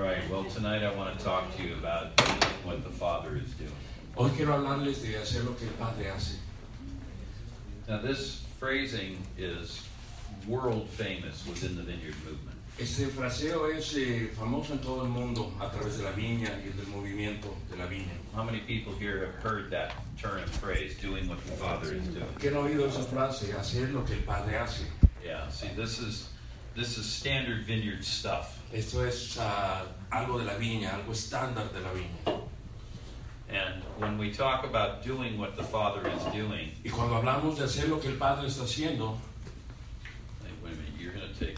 right, well, tonight I want to talk to you about what the Father is doing. Hoy quiero hablarles de hacer lo que el Padre hace. Now, this phrasing is world famous within the Vineyard movement. Este fraseo es famoso en todo el mundo a través de la viña y del movimiento de la viña. How many people here have heard that turn of phrase, doing what the Father is doing? ¿Quién ha oído esa frase? Hacer lo que el Padre hace. Yeah, see, this is standard Vineyard stuff. Esto es algo de la viña, algo estándar de la viña. And when we talk about doing what the Father is doing, Y cuando hablamos de hacer lo que el Padre está haciendo, wait a minute, you're going to take...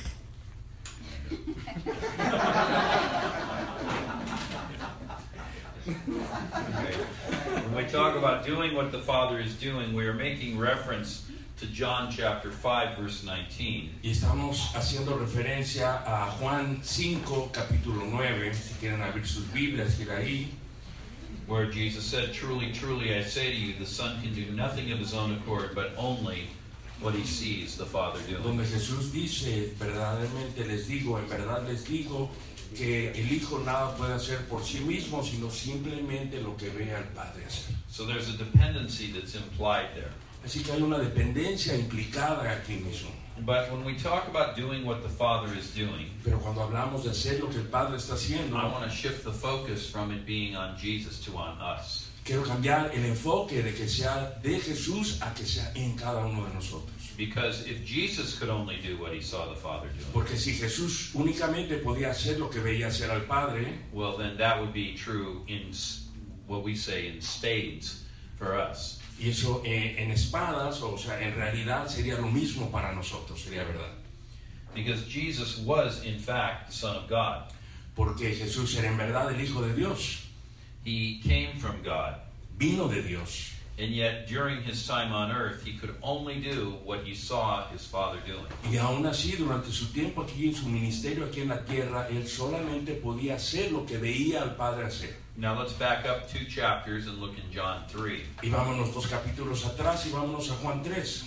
Okay. When we talk about doing what the Father is doing, we are making reference to John chapter 5, verse 19. y estamos haciendo referencia a Juan 5, capítulo 9, si quieren abrir sus Biblias, ir ahí, Where Jesus said, "Truly, truly, I say to you, the Son can do nothing of his own accord, but only what he sees the Father doing." donde Jesús dice, verdaderamente les digo, en verdad les digo, que el Hijo nada puede hacer por sí mismo, sino simplemente lo que ve al Padre hacer. So there's a dependency that's implied there. Así que hay una dependencia implicada aquí mismo. But when we talk about doing what the Father is doing, Pero cuando hablamos de hacer lo que el Padre está haciendo, I want to shift the focus from it being on Jesus to on us. quiero cambiar el enfoque de que sea de Jesús a que sea en cada uno de nosotros. Because if Jesus could only do what he saw the Father doing, Porque si Jesús únicamente podía hacer lo que veía hacer al Padre, well, then that would be true in what we say in spades for us. y eso en espadas, o sea, en realidad sería lo mismo para nosotros, sería verdad. Because Jesus was, in fact, the Son of God. Porque Jesús era en verdad el Hijo de Dios, He came from God. vino de Dios. And yet, during his time on earth, he could only do what he saw his Father doing. Y aún así, durante su tiempo aquí en su ministerio aquí en la tierra, él solamente podía hacer lo que veía al Padre hacer. Now let's back up 2 chapters and look in John 3. Y vámonos 2 capítulos atrás y vámonos a Juan 3.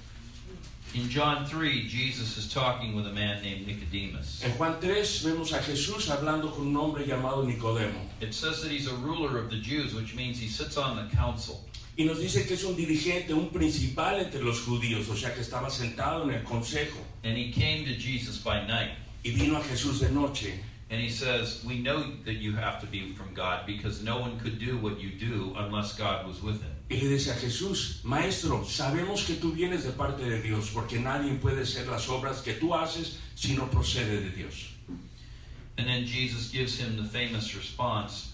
In John 3, Jesus is talking with a man named Nicodemus. En Juan 3 vemos a Jesús hablando con un hombre llamado Nicodemo. It says that he's a ruler of the Jews, which means he sits on the council. Y nos dice que es un dirigente, un principal entre los judíos, o sea que estaba sentado en el consejo. And he came to Jesus by night. Y vino a Jesús de noche. And he says, "We know that you have to be from God because no one could do what you do unless God was with him." Y le dice a Jesús, Maestro, sabemos que tú vienes de parte de Dios, porque nadie puede hacer las obras que tú haces si no procede de Dios. And then Jesus gives him the famous response,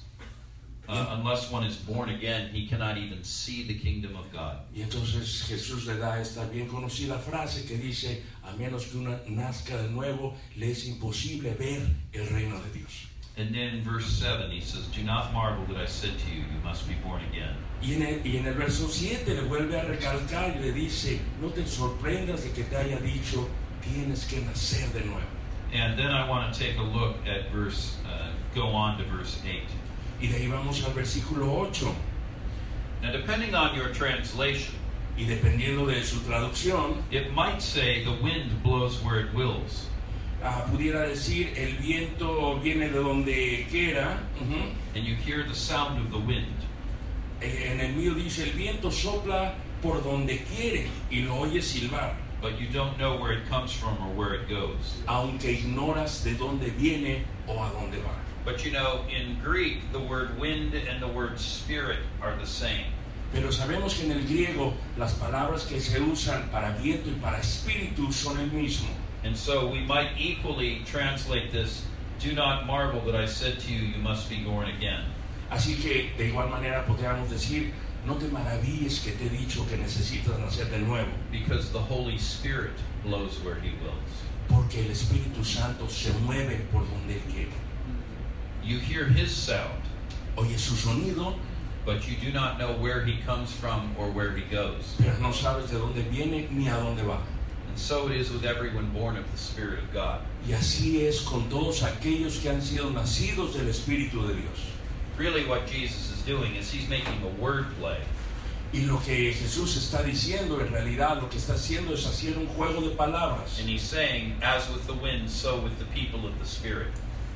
unless one is born again, he cannot even see the kingdom of God. Y entonces Jesús le da esta bien conocida frase que dice, a menos que uno nazca de nuevo, le es imposible ver el reino de Dios. And then in verse 7 he says, "Do not marvel that I said to you, you must be born again." Y en el verso 7 le vuelve a recalcar y le dice, no te sorprendas de que te haya dicho, tienes que nacer de nuevo. And then I want to take a look at go on to verse 8. Y de ahí vamos al versículo 8. Now depending on your translation, Y dependiendo de su traducción, it might say the wind blows where it wills. pudiera decir, el viento viene de donde quiera. And you hear the sound of the wind. En el mío dice, el viento sopla por donde quiere y lo oyes silbar, But you don't know where it comes from or where it goes. aunque ignoras de dónde viene o a dónde va. But you know, in Greek, the word wind and the word spirit are the same. Pero sabemos que en el griego las palabras que se usan para viento y para espíritu son el mismo. And so we might equally translate this, "Do not marvel that I said to you, you must be born again." Así que de igual manera podríamos decir, no te maravilles que te he dicho que necesitas nacer de nuevo, Because the Holy Spirit blows where he wills. porque el Espíritu Santo se mueve por donde Él quiere. You hear his sound, Oye su sonido, but you do not know where he comes from or where he goes. pero no sabes de dónde viene ni a dónde va. And so it is with everyone born of the Spirit of God. Y así es con todos aquellos que han sido nacidos del Espíritu de Dios. Really what Jesus is doing is he's making a word play. Y lo que Jesús está diciendo, en realidad, lo que está haciendo es hacer un juego de palabras. And he's saying, as with the wind, so with the people of the Spirit.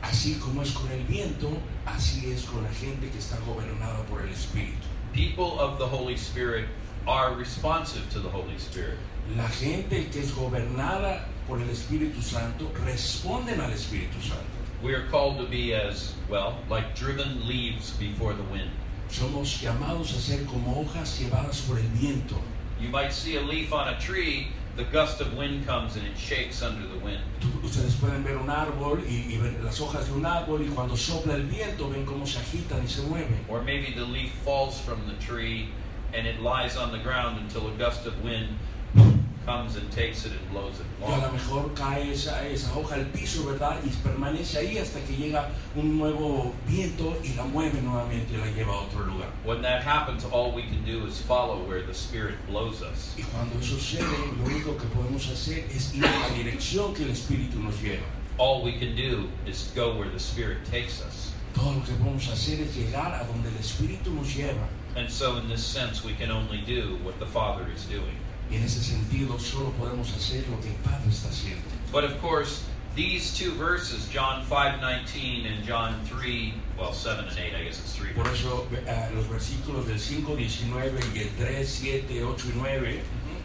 Así como es con el viento, así es con la gente que está gobernada por el Espíritu. People of the Holy Spirit are responsive to the Holy Spirit. La gente que es gobernada por el Espíritu Santo responden al Espíritu Santo. We are called to be as, well, like driven leaves before the wind. Somos llamados a ser como hojas llevadas por el viento. You might see a leaf on a tree, the gust of wind comes and it shakes under the wind. Ustedes pueden ver un árbol y ver las hojas de un árbol y cuando sopla el viento ven cómo se agitan y se mueven. Or maybe the leaf falls from the tree and it lies on the ground until a gust of wind comes and takes it and blows it Y a lo along. mejor cae esa hoja al piso, ¿verdad? Y permanece ahí hasta que llega un nuevo viento y la mueve nuevamente y la lleva a otro lugar. When that happens, all we can do is follow where the Spirit blows us. Y cuando eso sucede, lo único que podemos hacer es ir a la dirección que el Espíritu nos lleva. All we can do is go where the Spirit takes us. Todo lo que podemos hacer es llegar a donde el Espíritu nos lleva. And so in this sense, we can only do what the Father is doing. Y en ese sentido solo podemos hacer lo que el Padre está haciendo. But of course, these two verses, John 5:19 and John 3, well, 7 and 8, I guess it's 3. Por eso los versículos del 5:19 y el 3, 7, 8 y 9,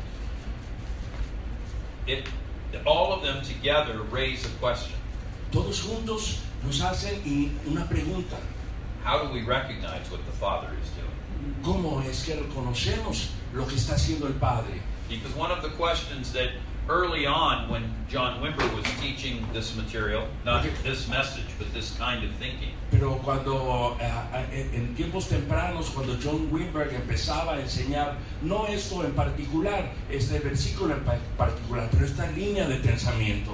All of them together raise a question. todos juntos nos hacen una pregunta. How do we recognize what the Father is doing? ¿Cómo es que reconocemos lo que está haciendo el Padre? Because one of the questions that early on when John Wimber was teaching this material, not this message, but this kind of thinking, Pero cuando en tiempos tempranos, cuando John Wimber empezaba a enseñar, no esto en particular, este versículo en particular, pero esta línea de pensamiento,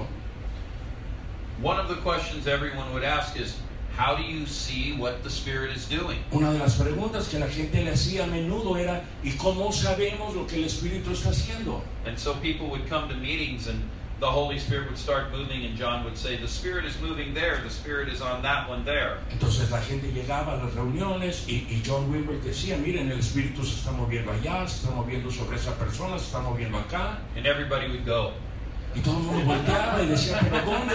one of the questions everyone would ask is, how do you see what the Spirit is doing? una de las preguntas que la gente le hacía a menudo era, ¿y cómo sabemos lo que el Espíritu está haciendo? And so people would come to meetings and the Holy Spirit would start moving and John would say, the Spirit is moving there, the Spirit is on that one there. Entonces la gente llegaba a las reuniones y John Wimber decía, miren, el Espíritu se está moviendo allá, se está moviendo sobre esa persona, se está moviendo acá. And everybody would go, Y todo el mundo volteaba y decía, ¿pero dónde?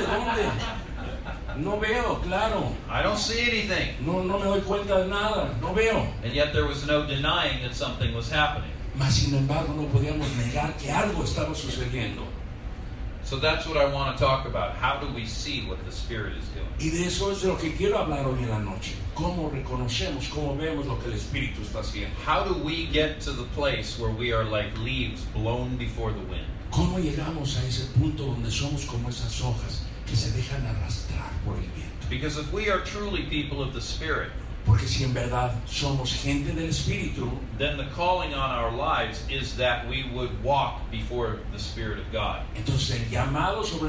No veo, claro. I don't see anything. No me doy cuenta de nada, no veo. And yet there was no denying that something was happening. Mas sin embargo no podíamos negar que algo estaba sucediendo. So that's what I want to talk about. How do we see what the Spirit is doing? Y de eso es de lo que quiero hablar hoy en la noche. ¿Cómo reconocemos, cómo vemos lo que el Espíritu está haciendo? How do we get to the place where we are like leaves blown before the wind? ¿Cómo llegamos a ese punto donde somos como esas hojas que se dejan arrastrar por el viento? Because if we are truly people of the Spirit, Porque si en verdad somos gente del Espíritu, then the calling on our lives is that we would walk before the Spirit of God. entonces el llamado sobre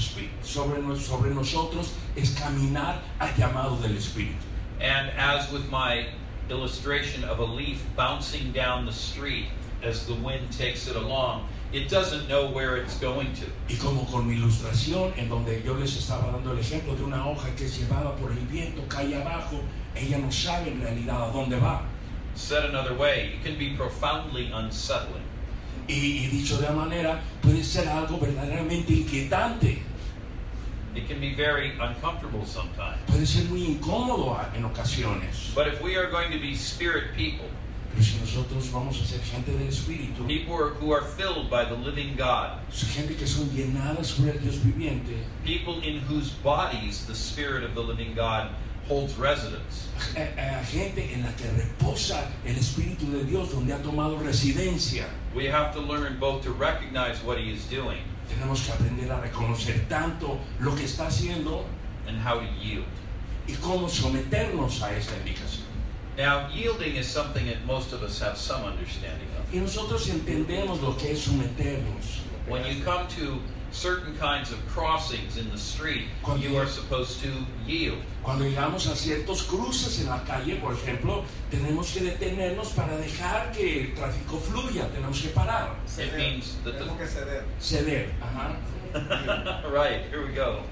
nosotros es caminar al llamado del Espíritu. And as with my illustration of a leaf bouncing down the street as the wind takes it along, it doesn't know where it's going to. Y como con mi ilustración, en donde yo les estaba dando el ejemplo de una hoja que es llevada por el viento, cae abajo, ella no sabe en realidad a dónde va. Said another way, it can be profoundly unsettling. Y dicho de una manera, puede ser algo verdaderamente inquietante, It can be very uncomfortable sometimes. puede ser muy incómodo en ocasiones. But if we are going to be spirit people, Pero si nosotros vamos a ser gente del Espíritu, people who are filled by the living God, gente que son llenadas por el Dios viviente, people in whose bodies the Spirit of the living God holds residence, gente en la que reposa el Espíritu de Dios, donde ha tomado residencia, we have to learn both to recognize what He is doing tenemos que aprender a reconocer tanto lo que está haciendo and how to yield. y cómo someternos a esta indicación. Now, yielding is something that most of us have some understanding of. Y nosotros entendemos lo que es someternos. When you come to certain kinds of crossings in the street, you are supposed to yield. Cuando llegamos a ciertos cruces en la calle, por ejemplo, tenemos que detenernos para dejar que el tráfico fluya, tenemos que parar. It means that Tenemos que ceder. Ceder. Ajá. Right, here we go.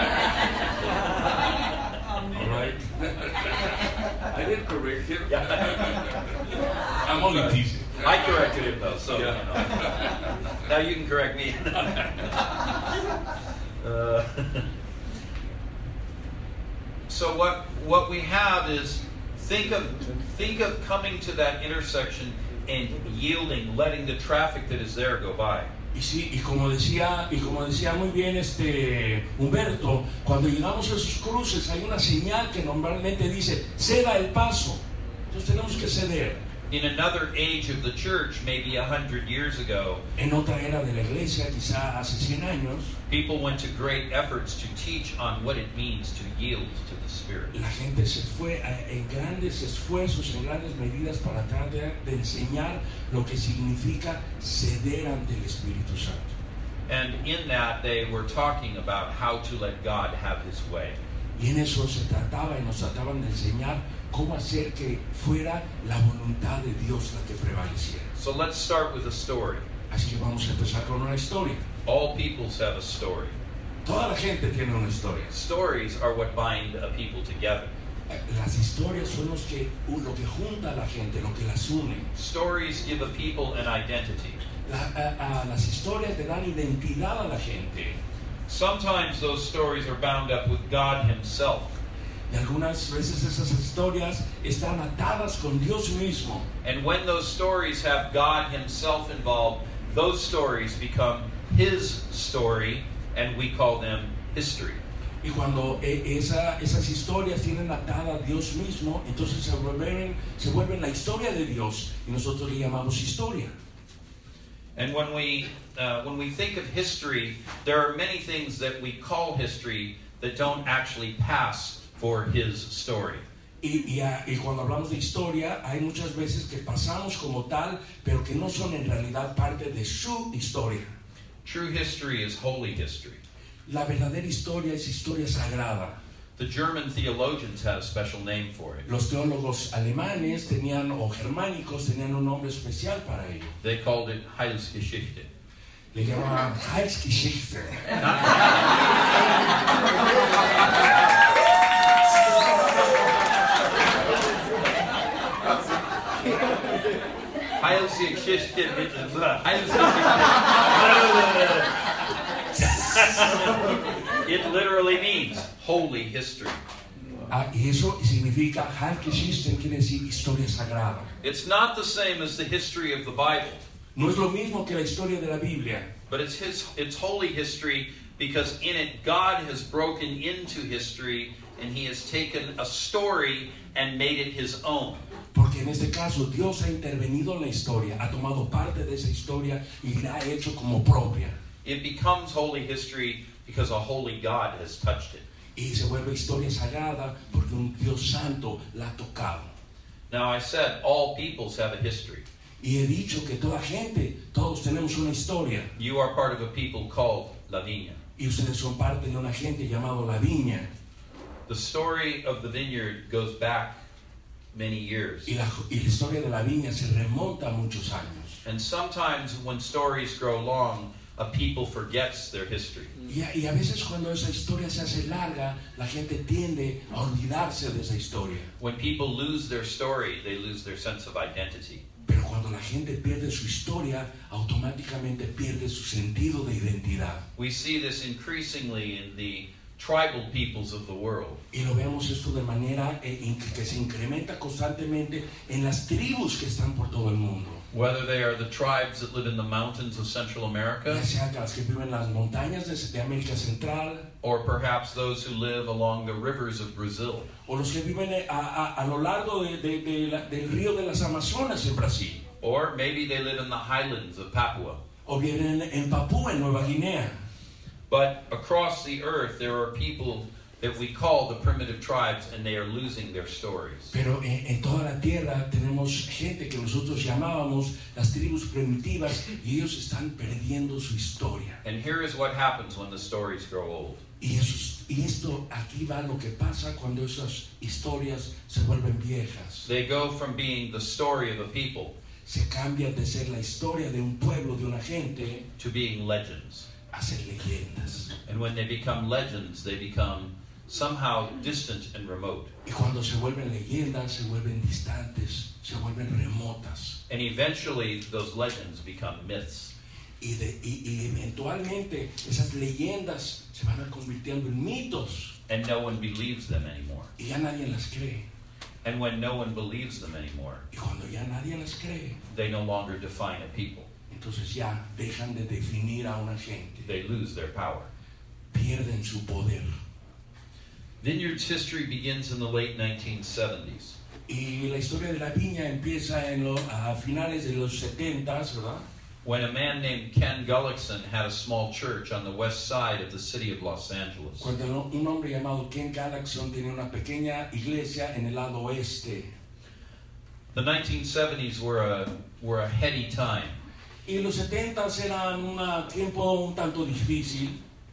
All right. I didn't correct him. I'm only teasing. I corrected him though, so you know. Now you can correct me. So what we have is think of coming to that intersection and yielding, letting the traffic that is there go by. Y sí, y como decía muy bien Humberto, cuando llegamos a esos cruces hay una señal que normalmente dice ceda el paso. Entonces tenemos que ceder. In another age of the church, maybe 100 years ago, En otra era de la iglesia, quizá hace 100 años, people went to great efforts to teach on what it means to yield to the Spirit. la gente se fue en grandes esfuerzos, en grandes medidas para tratar de enseñar lo que significa ceder ante el Espíritu Santo. And in that, they were talking about how to let God have His way. Y en eso se trataba y nos trataban de enseñar cómo hacer que fuera la voluntad de Dios la que prevaleciera. So let's start with a story. Así que vamos a empezar con una historia. All peoples have a story. Toda la gente tiene una historia. Stories are what bind a people together. Las historias son lo que junta a la gente, lo que las une. Stories give a people an identity. Las historias te dan identidad a la gente. Sometimes those stories are bound up with God Himself. Y algunas veces esas historias están atadas con Dios mismo. And when those stories have God Himself involved, those stories become His story, and we call them history. Y cuando esas historias tienen atada a Dios mismo, entonces se vuelven la historia de Dios y nosotros le llamamos historia. And when we think of history, there are many things that we call history that don't actually pass for His story. Y cuando hablamos de historia, hay muchas veces que pasamos como tal, pero que no son en realidad parte de su historia. True history is holy history. La verdadera historia es historia sagrada. The German theologians had a special name for it. Los teólogos alemanes o germánicos tenían un nombre especial para ello. They called it Heilsgeschichte. Le llamaban Heilsgeschichte. It literally means holy history. Y eso significa Heilsgeschichte, quiere decir historia sagrada. It's not the same as the history of the Bible. No es lo mismo que la historia de la Biblia. But it's holy history because in it God has broken into history and He has taken a story and made it His own. Porque en este caso Dios ha intervenido en la historia, ha tomado parte de esa historia y la ha hecho como propia. It becomes holy history because a holy God has touched it. Y se vuelve historia sagrada porque un Dios santo la ha tocado. Now I said all peoples have a history. Y he dicho que todos tenemos una historia. You are part of a people called La Viña. Y ustedes son parte de una gente llamada La Viña. The story of the vineyard goes back many years. Y la historia de La Viña se remonta a muchos años. And sometimes when stories grow long, a people forgets their history. Y a veces cuando esa historia se hace larga, la gente tiende a olvidarse de esa historia. When people lose their story, they lose their sense of identity. Pero cuando la gente pierde su historia, automáticamente pierde su sentido de identidad. We see this increasingly in the tribal peoples of the world. Y lo vemos esto de manera que se incrementa constantemente en las tribus que están por todo el mundo. Whether they are the tribes that live in the mountains of Central America, Ya sea que las que viven en las montañas de América Central, or perhaps those who live along the rivers of Brazil, o los que viven a lo largo del río de las Amazonas en Brasil, or maybe they live in the highlands of Papua. o viven en Papúa, en Nueva Guinea. But across the earth, there are people that we call the primitive tribes, and they are losing their stories. Pero en toda la tierra tenemos gente que nosotros llamábamos las tribus primitivas y ellos están perdiendo su historia. And here is what happens when the stories grow old. Y esto aquí va lo que pasa cuando esas historias se vuelven viejas. They go from being the story of a people Se cambian de ser la historia de un pueblo, de una gente, to being legends. a ser leyendas. And when they become legends, they become somehow distant and remote. Y cuando se vuelven leyendas, se vuelven distantes, se vuelven remotas. And eventually, those legends become myths. y eventualmente esas leyendas se van a convirtiendo en mitos and no one believes them anymore. y ya nadie las cree. And when no one believes them anymore, Y cuando ya nadie las cree, they no longer define a people. entonces ya dejan de definir a una gente, They lose their power. pierden su poder. Vineyard's history begins in the late 1970s. Y la historia de la viña empieza a finales de los 70s, ¿verdad? When a man named Ken Gullickson had a small church on the west side of the city of Los Angeles. Cuando un hombre llamado Ken Gullickson tenía una pequeña iglesia en el lado oeste. The 1970s were a heady time. Y los 70s eran un tiempo un tanto difícil.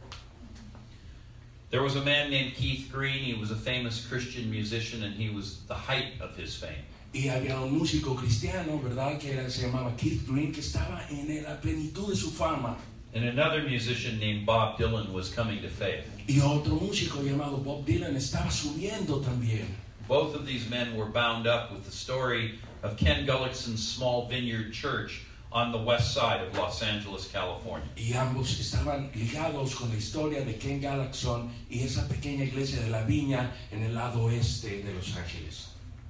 There was a man named Keith Green. He was a famous Christian musician, and he was the height of his fame. Y había un músico cristiano, ¿verdad? Se llamaba Keith Green, que estaba en la plenitud de su fama. And another musician named Bob Dylan was coming to faith. Y otro músico llamado Bob Dylan estaba subiendo también. Both of these men were bound up with the story of Ken Gullickson's small vineyard church on the west side of Los Angeles, California. Y ambos estaban ligados con la historia de Ken Gullickson y esa pequeña iglesia de la viña en el lado oeste de Los Ángeles.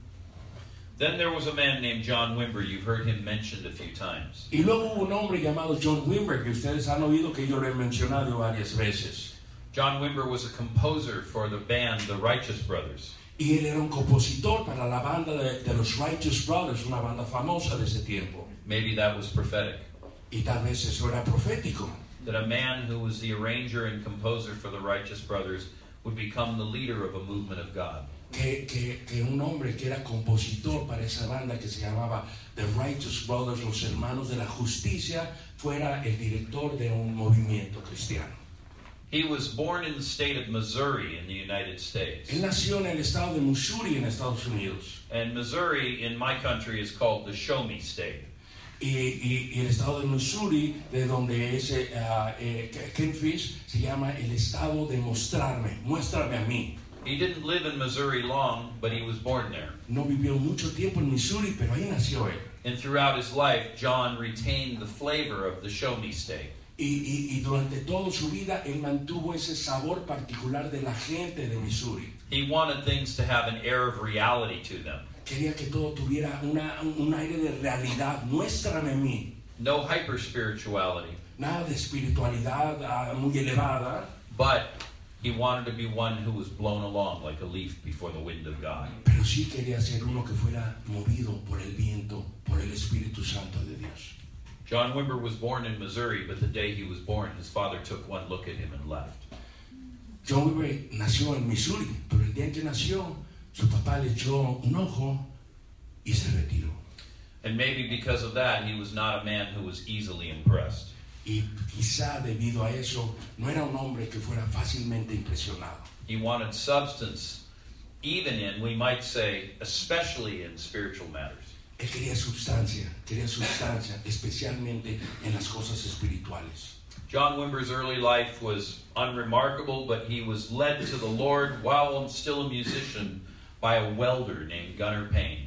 Then there was a man named John Wimber. You've heard him mentioned a few times. Y luego hubo un hombre llamado John Wimber, que ustedes han oído que yo lo he mencionado varias veces. John Wimber was a composer for the band The Righteous Brothers. Y él era un compositor para la banda de los Righteous Brothers, una banda famosa de ese tiempo. Maybe that was prophetic. Y tal vez eso era profético. That a man who was the arranger and composer for the Righteous Brothers would become the leader of a movement of God. Que un hombre que era compositor para esa banda que se llamaba The Righteous Brothers, los hermanos de la justicia, fuera el director de un movimiento cristiano. He was born in the state of Missouri in the United States. Él nació en el estado de Missouri en Estados Unidos. And Missouri in my country is called the Show Me State. Y el estado de Missouri, de donde es Ken Fish, se llama el estado de mostrarme, muéstrame a mí. He didn't live in Missouri long, but he was born there. No vivió mucho tiempo en Missouri, pero ahí nació él. And throughout his life, John retained the flavor of the Show Me State. Y durante toda su vida, él mantuvo ese sabor particular de la gente de Missouri. He wanted things to have an air of reality to them. Quería que todo tuviera un aire de realidad. Muéstrame a mí. No hyper spirituality, Nada de espiritualidad muy elevada. but he wanted to be one who was blown along like a leaf before the wind of God. Pero sí quería ser uno que fuera movido por el viento, por el Espíritu Santo de Dios. John Wimber was born in Missouri, but the day he was born, his father took one look at him and left. John Wimber nació en Missouri, pero el día en que nació, su papá le echó un ojo y se retiró. And maybe because of that, he was not a man who was easily impressed. Y quizá debido a eso, no era un hombre que fuera fácilmente impresionado. He wanted substance, even in, we might say, especially in spiritual matters. Él quería sustancia, especialmente en las cosas espirituales. John Wimber's early life was unremarkable, but he was led to the Lord while still a musician by a welder named Gunnar Payne.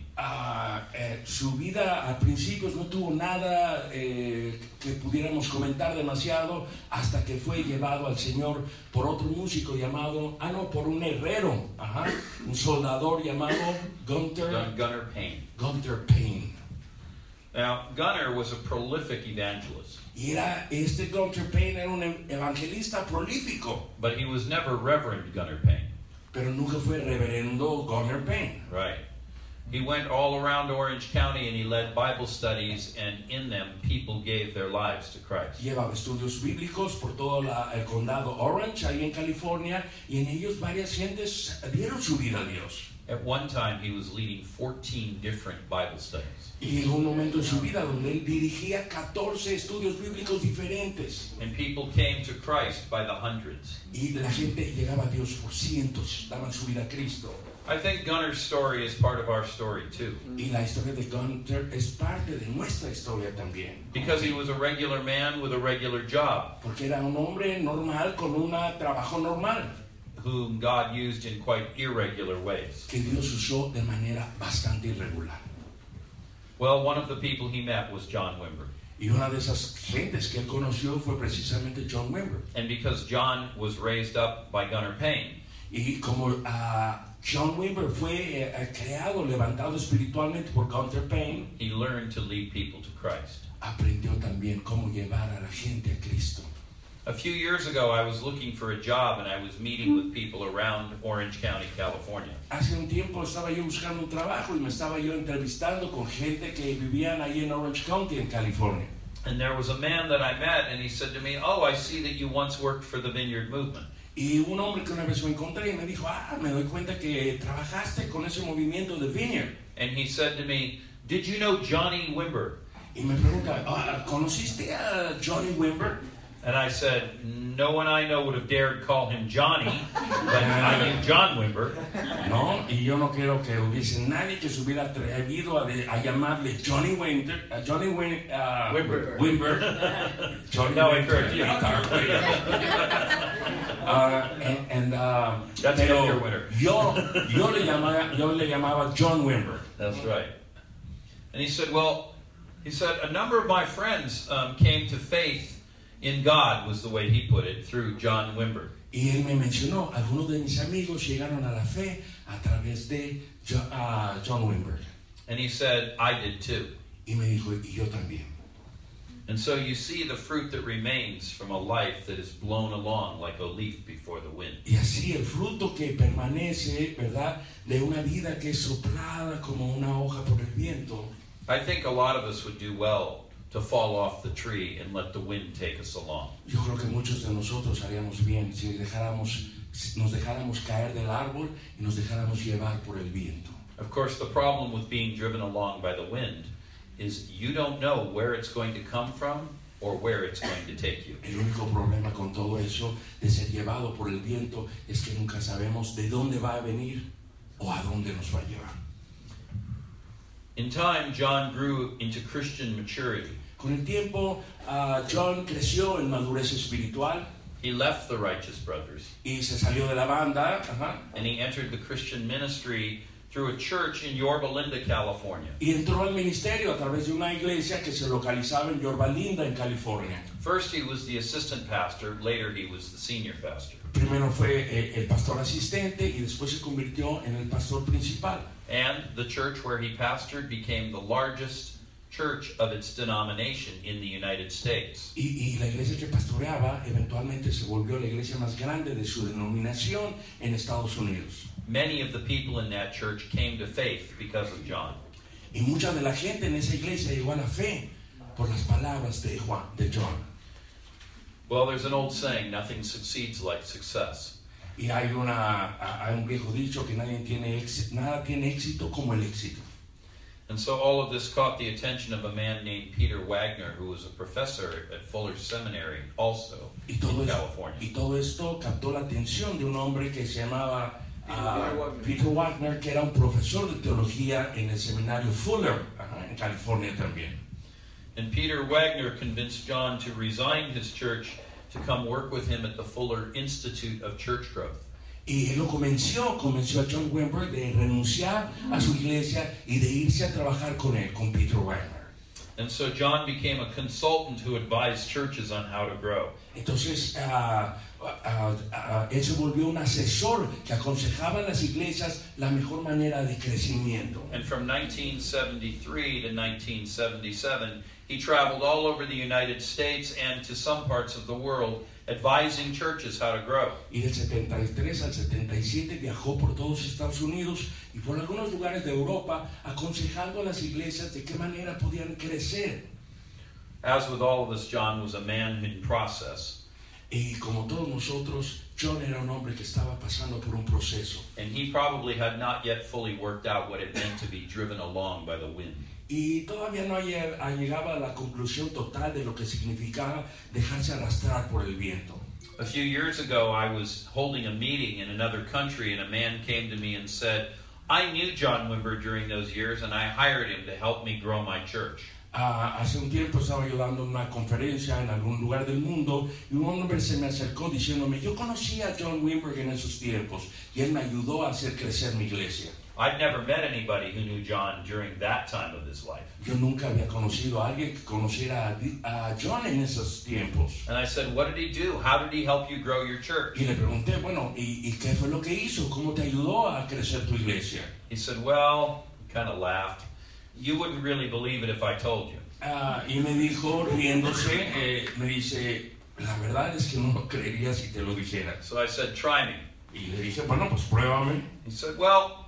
Su vida al principio no tuvo nada que pudiéramos comentar demasiado hasta que fue llevado al Señor por otro músico llamado, por un herrero, un soldador llamado Gunnar Payne. Gunnar Payne. Now, Gunnar was a prolific evangelist. Y Gunnar Payne era un evangelista prolífico. But he was never Reverend Gunnar Payne. Pero nunca fue reverendo Gunnar Payne. Right. He went all around Orange County and he led Bible studies, and in them people gave their lives to Christ. Llevaba estudios bíblicos por todo el condado Orange, ahí en California, y en ellos varias gentes dieron su vida a Dios. At one time he was leading 14 different Bible studies. Y en un momento en su vida donde él dirigía 14 estudios bíblicos diferentes. And people came to Christ by the hundreds. Y la gente llegaba a Dios por cientos, daban su vida a Cristo. I think Gunnar's story is part of our story too. Y la historia de Gunnar es parte de nuestra historia también. Because he was a regular man with a regular job, Porque era un hombre normal con un trabajo normal, whom God used in quite irregular ways. que Dios usó de manera bastante irregular. Well, one of the people he met was John Wimber. Y una de esas gentes que él conoció fue precisamente John Wimber. And because John was raised up by Gunnar Payne, Y como John Wimber fue creado, levantado espiritualmente por Gunnar Payne, he learned to lead people to Christ. aprendió también cómo llevar a la gente a Cristo. A few years ago, I was looking for a job and I was meeting with people around Orange County, California. Hace un tiempo estaba yo buscando un trabajo y me estaba yo entrevistando con gente que vivían ahí en Orange County, en California. And there was a man that I met and he said to me, "Oh, I see that you once worked for the Vineyard Movement." Y un hombre que una vez me encontré y me dijo, me doy cuenta que trabajaste con ese movimiento de Vineyard. And he said to me, "Did you know Johnny Wimber?" Y me pregunta, ¿conociste a Johnny Wimber? And I said, "No one I know would have dared call him Johnny, but I knew John Wimber." No, y yo no quiero que hubiese nadie que se hubiera atrevido a llamarle Johnny Wimber. Wimber. Johnny No, Winter, encourage you. guitar player. That's Pero your winner. yo le llamaba John Wimber. That's right. And he said, a number of my friends came to faith in God, was the way he put it, through John Wimber. Y él me mencionó, algunos de mis amigos llegaron a la fe a través de John Wimber. And he said, I did too. Y me dijo, y yo también. And so you see the fruit that remains from a life that is blown along like a leaf before the wind. Y así el fruto que permanece, ¿verdad? De una vida que es soplada como una hoja por el viento. I think a lot of us would do well to fall off the tree and let the wind take us along. Yo creo que muchos de nosotros haríamos bien si nos dejáramos caer del árbol y nos dejáramos llevar por el viento. Of course, the problem with being driven along by the wind is you don't know where it's going to come from or where it's going to take you. El único problema con todo eso de ser llevado por el viento es que nunca sabemos de dónde va a venir o a dónde nos va a llevar. In time, John grew into Christian maturity. Con el tiempo, John creció en madurez espiritual. He left the Righteous Brothers Y se salió de la banda. and he entered the Christian ministry through a church in Yorba Linda, California. Y entró al ministerio a través de una iglesia que se localizaba en Yorba Linda, en California. First, he was the assistant pastor. Later, he was the senior pastor. Primero fue el pastor asistente y después se convirtió en el pastor principal. And the church where he pastored became the largest church of its denomination in the United States. Y la iglesia que pastoreaba eventualmente se volvió la iglesia más grande de su denominación en Estados Unidos. Many of the people in that church came to faith because of John. Y mucha de la gente en esa iglesia llegó a la fe por las palabras de John. Well, there's an old saying, nothing succeeds like success. Y hay un viejo dicho que nada tiene éxito como el éxito. And so all of this caught the attention of a man named Peter Wagner, who was a professor at Fuller Seminary, also in California. Y todo esto captó la atención de un hombre que se llamaba Peter Wagner, que era un profesor de teología en el seminario Fuller, en California también. And Peter Wagner convinced John to resign his church to come work with him at the Fuller Institute of Church Growth. Y él lo convenció a John Wimber de renunciar a su iglesia y de irse a trabajar con él, con Peter Wagner. And so John became a consultant who advised churches on how to grow. Entonces, él se volvió un asesor que aconsejaba a las iglesias la mejor manera de crecimiento. And from 1973 to 1977, he traveled all over the United States and to some parts of the world, advising churches how to grow. Y del 73 al 77 viajó por todos Estados Unidos y por algunos lugares de Europa, aconsejando a las iglesias de qué manera podían crecer. As with all of us, John was a man in process. Y como todos nosotros, John era un hombre que estaba pasando por un proceso. And he probably had not yet fully worked out what it meant to be driven along by the wind. Y todavía no llegaba a la conclusión total de lo que significaba dejarse arrastrar por el viento. A few years ago, I was holding a meeting in another country, and a man came to me and said, I knew John Wimber during those years, and I hired him to help me grow my church. Hace un tiempo estaba yo dando una conferencia en algún lugar del mundo y un hombre se me acercó diciéndome, yo conocí a John Wimber en esos tiempos y él me ayudó a hacer crecer mi iglesia. I'd never met anybody who knew John during that time of his life. Yo nunca había conocido a alguien que conociera a John en esos tiempos. And I said, what did he do? How did he help you grow your church? Y le pregunté, bueno, ¿y qué fue lo que hizo? ¿Cómo te ayudó a crecer tu iglesia? He said, well, kind of laughed. You wouldn't really believe it if I told you. Y me dijo, riéndose, me dice, la verdad es que no lo creería si te lo dijera. So I said, try me. Y le dije, bueno, pues pruébame. He said, well,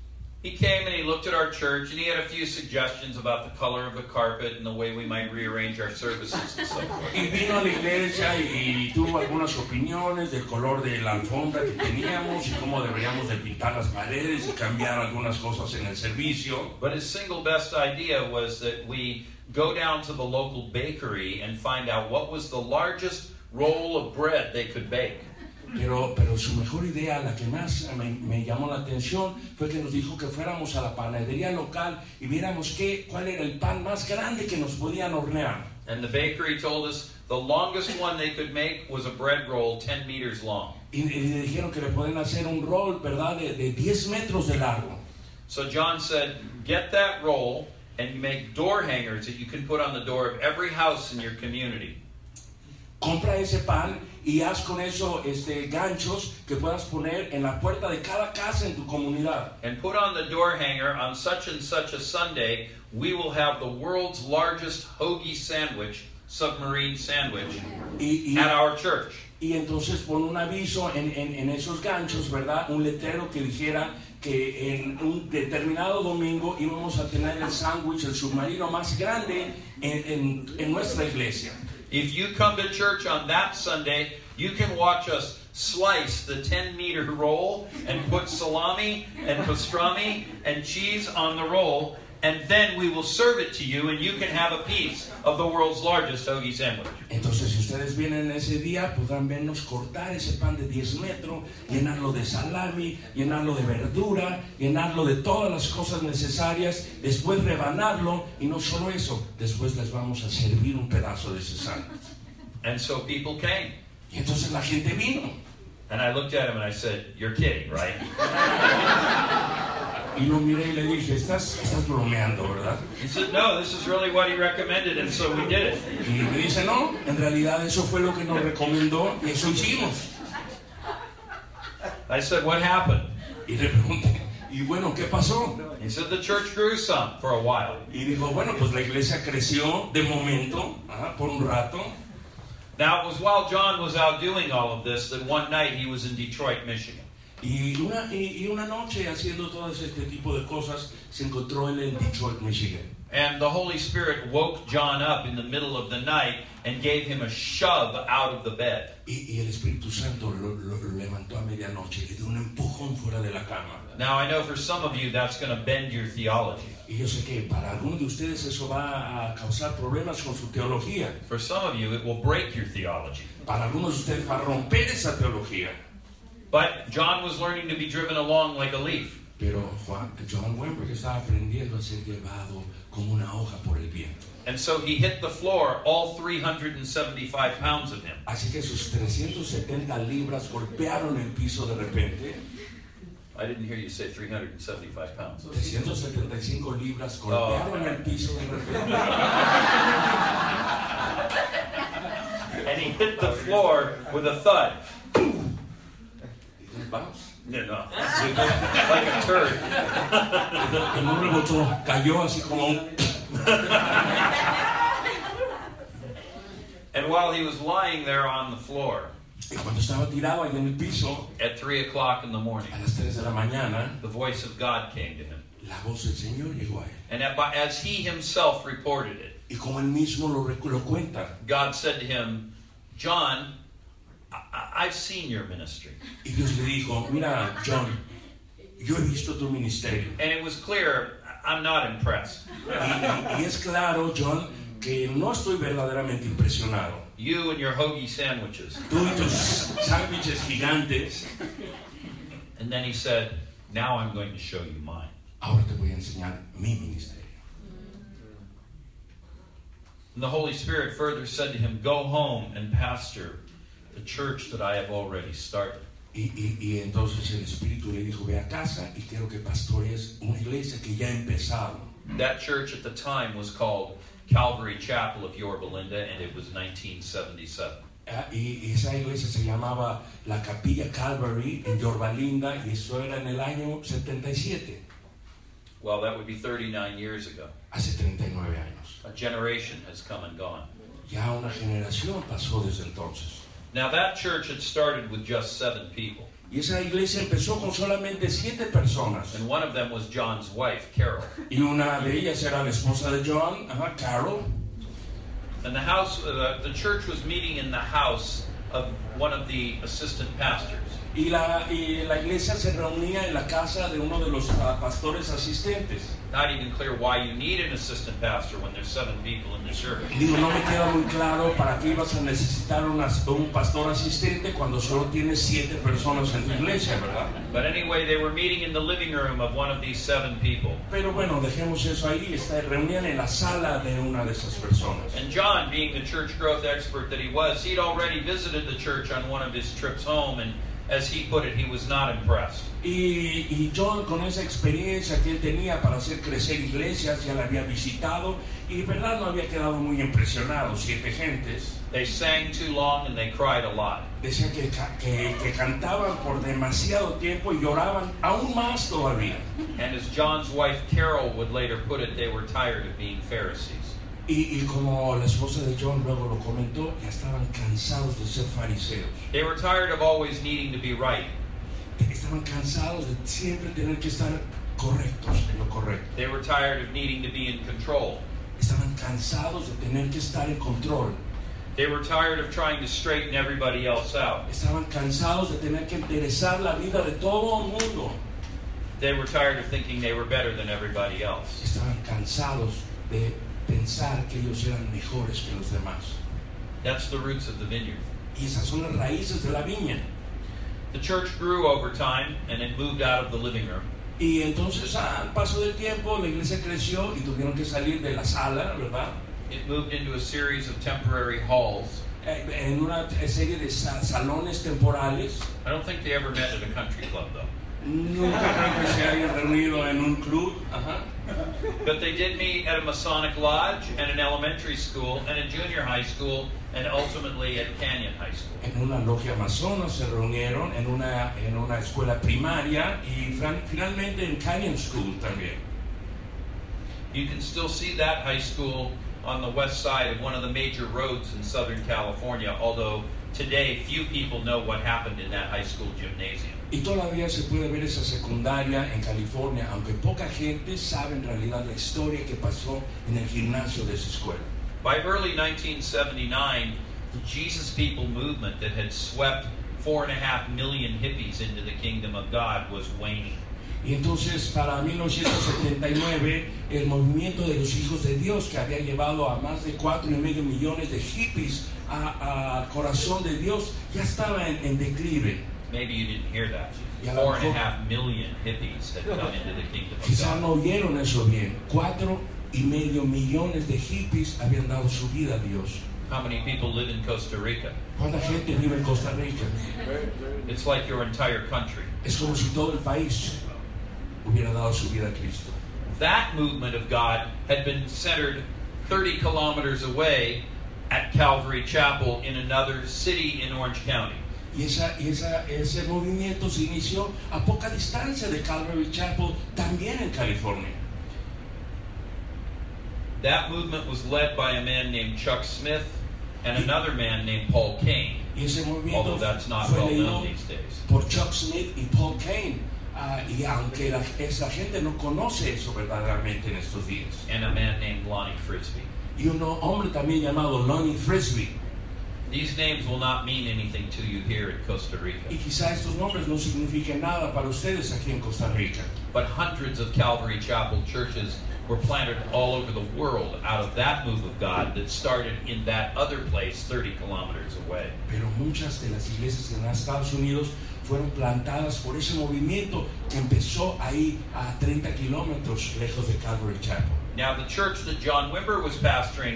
he came and he looked at our church and he had a few suggestions about the color of the carpet and the way we might rearrange our services and so forth. Y vino a la iglesia y tuvo algunas opiniones del color de la alfombra que teníamos y cómo deberíamos de pintar las paredes y cambiar algunas cosas en el servicio. But his single best idea was that we go down to the local bakery and find out what was the largest roll of bread they could bake. Pero su mejor idea, la que más me llamó la atención, fue que nos dijo que fuéramos a la panadería local y viéramos cuál era el pan más grande que nos podían hornear. And the bakery told us the longest one they could make was a bread roll 10 meters long. Y le dijeron que le pueden hacer un roll, ¿verdad?, de 10 metros de largo. So John said, get that roll and you make door hangers that you can put on the door of every house in your community. Compra ese pan y haz con eso ganchos que puedas poner en la puerta de cada casa en tu comunidad. And put on the door hanger, on such and such a Sunday, we will have the world's largest hoagie sandwich, submarine sandwich, at our church. Y entonces pon un aviso en esos ganchos, ¿verdad? Un letrero que dijera que en un determinado domingo íbamos a tener el sándwich, el submarino más grande en nuestra iglesia. If you come to church on that Sunday, you can watch us slice the 10-meter roll and put salami and pastrami and cheese on the roll, and then we will serve it to you, and you can have a piece of the world's largest hoagie sandwich. Entonces, si ustedes vienen ese día, podrán vernos cortar ese pan de 10 metros, llenarlo de salami, llenarlo de verdura, llenarlo de todas las cosas necesarias, después rebanarlo, y no solo eso, después les vamos a servir un pedazo de ese sándwich. And so people came. Y entonces la gente vino. And I looked at him and I said, you're kidding, right? Y lo miré y le dije, estás bromeando, ¿verdad? He said, no, this is really what he recommended, and so we did it. Y me dice, no, en realidad eso fue lo que nos recomendó y eso hicimos. I said, what happened? Y le pregunté, y bueno, ¿qué pasó? He said, the church grew some for a while. Y dijo, bueno, pues la iglesia creció de momento, por un rato. Now, it was while John was out doing all of this that one night he was in Detroit, Michigan. Y una noche haciendo todo este tipo de cosas se encontró él en Detroit, Michigan. And the Holy Spirit woke John up in the middle of the night and gave him a shove out of the bed. Y el Espíritu Santo lo levantó a medianoche y le dio un empujón fuera de la cama. Now, I know for some of you that's going to bend your theology. Y yo sé que para algunos de ustedes eso va a causar problemas con su teología. For some of you, it will break your theology. Para algunos de ustedes va a romper esa teología. But John was learning to be driven along like a leaf. Pero John Wimber estaba aprendiendo a ser llevado como una hoja por el viento. And so he hit the floor, all 375 pounds of him. Así que sus 370 libras golpearon el piso de repente. I didn't hear you say 375 pounds. 375 libras golpearon el piso de repente. And he hit the floor with a thud. Vamos. Yeah, no. Like a turd. En un rebotó, cayó así como un... And while he was lying there on the floor, Y cuando estaba tirado ahí en el piso, at 3 o'clock in the morning, a las 3 de la mañana, the voice of God came to him. la voz del Señor llegó a él. And as he himself reported it, Y como él mismo lo cuenta, God said to him, John, I've seen your ministry. y Dios le dijo, mira, John, yo he visto tu ministerio. And it was clear, I'm not impressed. Y es claro, John, que no estoy verdaderamente impresionado. You and your hoagie sandwiches. Tú y tus sándwiches gigantes. And then he said, now I'm going to show you mine. Ahora te voy a enseñar mi ministerio. And the Holy Spirit further said to him, "Go home and pastor the church that I have already started." Y entonces el Espíritu le dijo, ve a casa y quiero que pastorees una iglesia que ya ha empezado. That church at the time was called Calvary Chapel of Yorba Linda, and it was 1977. Y esa iglesia se llamaba la Capilla Calvary en Yorba Linda, y eso era en el año 77. Well, that would be 39 years ago. Hace 39 años. A generation has come and gone. Ya una generación pasó desde entonces. Now that church had started with just 7 people. Y esa iglesia empezó con solamente 7 personas. And one of them was John's wife, Carol. Y una de ellas era la esposa de John, Carol. And the church was meeting in the house of one of the assistant pastors. Y la iglesia se reunía en la casa de uno de los pastores asistentes. Not even clear why you need an assistant pastor when there's 7 people in the church. Digo, no me queda muy claro para qué ibas a necesitar un pastor asistente cuando solo tienes 7 personas en tu iglesia, ¿verdad? But anyway, they were meeting in the living room of one of these 7 people. Pero bueno, dejemos eso ahí. Reunían en la sala de una de esas personas. And John, being the church growth expert that he was, he'd already visited the church on one of his trips home, and as he put it, he was not impressed. Y John, con esa experiencia que él tenía para hacer crecer iglesias, ya la había visitado y verdad no había quedado muy impresionado. 7 gentes. They sang too long and they cried a lot. Decían que cantaban por demasiado tiempo y lloraban aún más todavía. And as John's wife Carol would later put it, they were tired of being Pharisees. Y como la esposa de John luego lo comentó, ya estaban cansados de ser fariseos. They were tired of always needing to be right. Estaban cansados de siempre tener que estar correctos en lo correcto. They were tired of needing to be in control. Estaban cansados de tener que estar en control. They were tired of trying to straighten everybody else out. Estaban cansados de tener que enderezar la vida de todo el mundo. They were tired of thinking they were better than everybody else. Estaban cansados de pensar que ellos eran mejores que los demás. That's the roots of the vineyard. Y esas son las raíces de la viña. The church grew over time and it moved out of the living room. Y entonces al paso del tiempo la iglesia creció y tuvieron que salir de la sala, ¿verdad? It moved into a series of temporary halls. En una serie de salones temporales. I don't think they ever met at a country club though. Nunca creo que se hayan reunido en un club. But they did meet at a Masonic lodge and an elementary school and a junior high school and ultimately at Canyon High School. En una logia masona se reunieron en una escuela primaria y finalmente en Canyon School también. You can still see that high school on the west side of one of the major roads in Southern California, although today few people know what happened in that high school gymnasium. Y todavía se puede ver esa secundaria en California, aunque poca gente sabe en realidad la historia que pasó en el gimnasio de esa escuela. By early 1979, the Jesus People movement that had swept 4.5 million hippies into the kingdom of God was waning. Y entonces para 1979 el movimiento de los hijos de Dios, que había llevado a más de 4.5 millones de hippies al corazón de Dios, ya estaba en declive. Maybe you didn't hear that. 4.5 million hippies had come into the kingdom of Quizás God. no oyeron eso bien. 4.5 millones de hippies habían dado su vida a Dios. How many people live in Costa Rica? ¿Cuánta gente vive en Costa Rica? It's like your entire country. Es como si todo el país hubiera dado su vida a Cristo. That movement of God had been centered 30 kilometers away at Calvary Chapel in another city in Orange County. Y ese movimiento se inició a poca distancia de Calvary Chapel, también en California. That movement was led by a man named Chuck Smith and another man named Paul Kane, Y ese movimiento although that's not fue well leído known these days. por Chuck Smith y Paul Kane. Y aunque esa gente no conoce eso verdaderamente en estos días. And a man named Lonnie Frisbee. Y un hombre también llamado Lonnie Frisbee. These names will not mean anything to you here in Costa Rica. Y quizá estos nombres no signifiquen nada para ustedes aquí en Costa Rica. But hundreds of Calvary Chapel churches were planted all over the world out of that move of God that started in that other place 30 kilometers away. Pero muchas de las iglesias en los Estados Unidos fueron plantadas por ese movimiento que empezó ahí a 30 kilómetros lejos de Calvary Chapel. Now the church that John Wimber was pastoring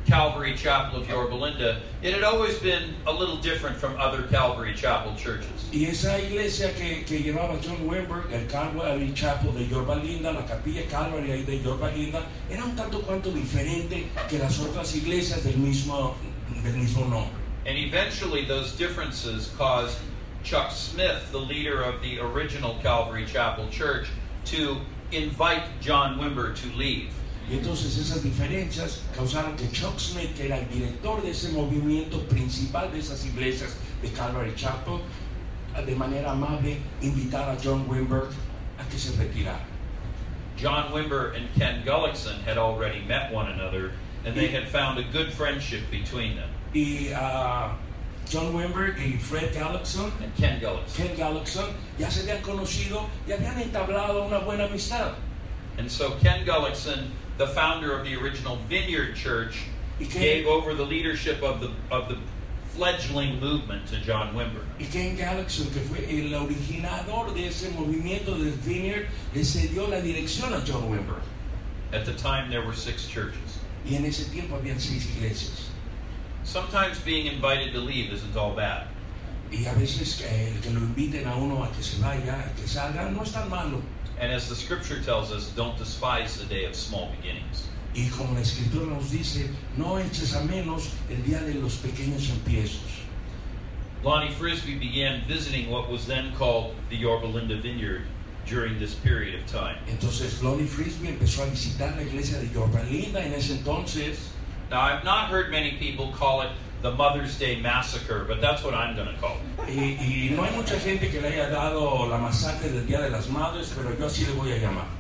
Calvary Chapel of Yorba Linda, it had always been a little different from other Calvary Chapel churches. Y esa iglesia que llevaba John Wimber, el Calvary Chapel de Yorba Linda, la capilla Calvary ahí de Yorba Linda, era un tanto cuanto diferente que las otras iglesias del mismo nombre. And eventually those differences caused Chuck Smith, the leader of the original Calvary Chapel Church, to invite John Wimber to leave. Y entonces esas diferencias causaron que Chuck Smith, que era el director de ese movimiento principal de esas iglesias de Calvary Chapel, de manera amable invitara a John Wimber a que se retirara. John Wimber and Ken Gullickson had already met one another, and they had found a good friendship between them. Y John Wimber y Fred Gullickson, And Ken Gullickson. Ken Gullickson, ya se habían conocido y habían entablado una buena amistad. And so Ken Gullickson, the founder of the original Vineyard Church, gave over the leadership of the fledgling movement to John Wimber. Y Ken Gullickson, que fue el originador de ese movimiento del Vineyard, le cedió la dirección a John Wimber. At the time, there were 6 churches. Y en ese tiempo habían 6 iglesias. Sometimes being invited to leave isn't all bad. Y a veces el que lo inviten a uno a que se vaya, a que salga, no es tan malo. And as the scripture tells us, don't despise the day of small beginnings. Y como la escritura nos dice, no eches a menos el día de los pequeños empiezos. Lonnie Frisbee began visiting what was then called the Yorba Linda Vineyard during this period of time. Entonces Lonnie Frisbee empezó a visitar la iglesia de Yorba Linda en ese entonces. Now, I've not heard many people call it the Mother's Day Massacre, but that's what I'm going to call it. Y no hay mucha gente que le haya dado la masacre del Día de las Madres, pero yo así le voy a llamar.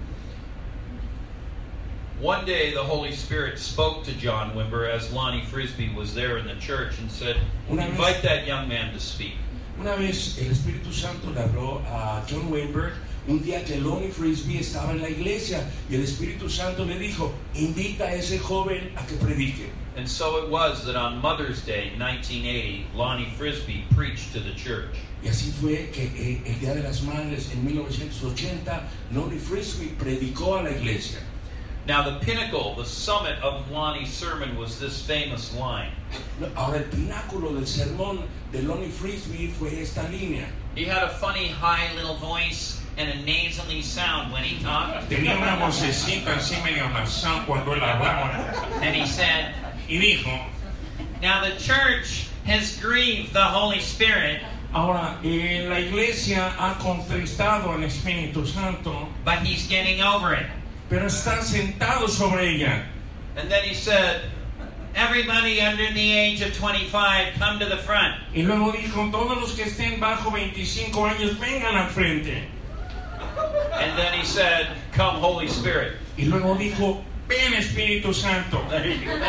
One day, the Holy Spirit spoke to John Wimber as Lonnie Frisbee was there in the church and said, invite that young man to speak. Una vez el Espíritu Santo le habló a John Wimber un día que Lonnie Frisbee estaba en la iglesia y el Espíritu Santo le dijo, invita a ese joven a que predique. And so it was that on Mother's Day, 1980, Lonnie Frisbee preached to the church. Y así fue que el Día de las Madres en 1980, Lonnie Frisbee predicó a la iglesia. Now the pinnacle, the summit of Lonnie's sermon was this famous line. Ahora el pináculo del sermón de Lonnie Frisbee fue esta línea. He had a funny high little voice and a nasally sound when he talked. Tenía una vocecita así medio nasal cuando él hablaba. And he said, Y dijo, now the church has grieved the Holy Spirit, ahora la iglesia ha contristado al Espíritu Santo, but he's getting over it. pero están sentados sobre ella. And then he said, everybody under the age of 25, come to the front. Y luego dijo, todos los que estén bajo 25 años, vengan al frente. And then he said, come Holy Spirit. Y luego dijo, ven Espíritu Santo. There you go.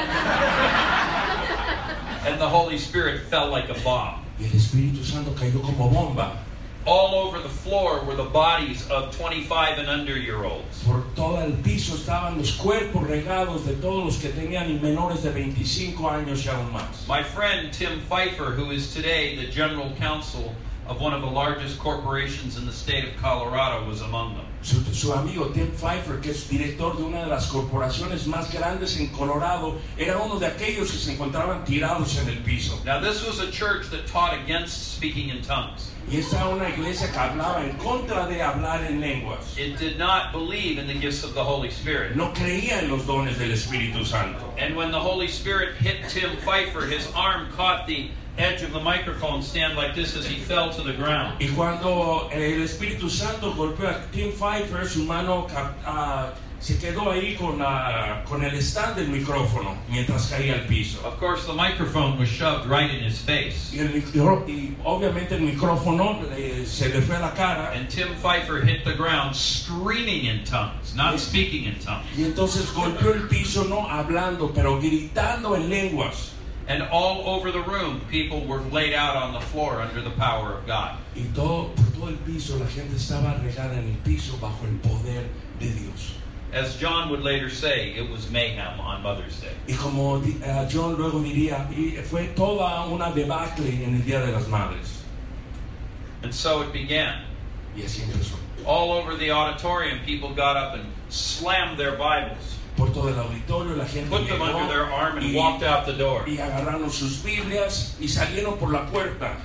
And the Holy Spirit fell like a bomb. Y el Espíritu Santo cayó como bomba. All over the floor were the bodies of 25 and under-year-olds. Por todo el piso estaban los cuerpos regados de todos los que tenían menores de 25 años y aún más. My friend Tim Pfeiffer, who is today the general counsel of one of the largest corporations in the state of Colorado, was among them. Su amigo Tim Pfeiffer, que es director de una de las corporaciones más grandes en Colorado, era uno de aquellos que se encontraban tirados en el piso. Now, this was a church that taught against speaking in tongues. Y esta era una iglesia que hablaba en contra de hablar en lenguas. It did not believe in the gifts of the Holy Spirit. No creía en los dones del Espíritu Santo. And when the Holy Spirit hit Tim Pfeiffer, his arm caught the edge of the microphone stand like this as he fell to the ground. Y cuando el Espíritu Santo golpeó a Tim Pfeiffer, su mano se quedó ahí con el stand del micrófono mientras caía al piso. Of course, the microphone was shoved right in his face. Y obviamente el micrófono se le fue a la cara. And Tim Pfeiffer hit the ground screaming in tongues, not speaking in tongues. Y entonces golpeó el piso no hablando, pero gritando en lenguas. And all over the room, people were laid out on the floor under the power of God. Y por todo el piso la gente estaba regada en el piso bajo el poder de Dios. As John would later say, it was mayhem on Mother's Day. Y como John luego diría, fue toda una debacle en el Día de las Madres. And so it began. Y así empezó. All over the auditorium, people got up and slammed their Bibles. por todo el auditorio, la gente put them llegó under their arm, and walked out the door. y agarraron sus Biblias y salieron por la puerta.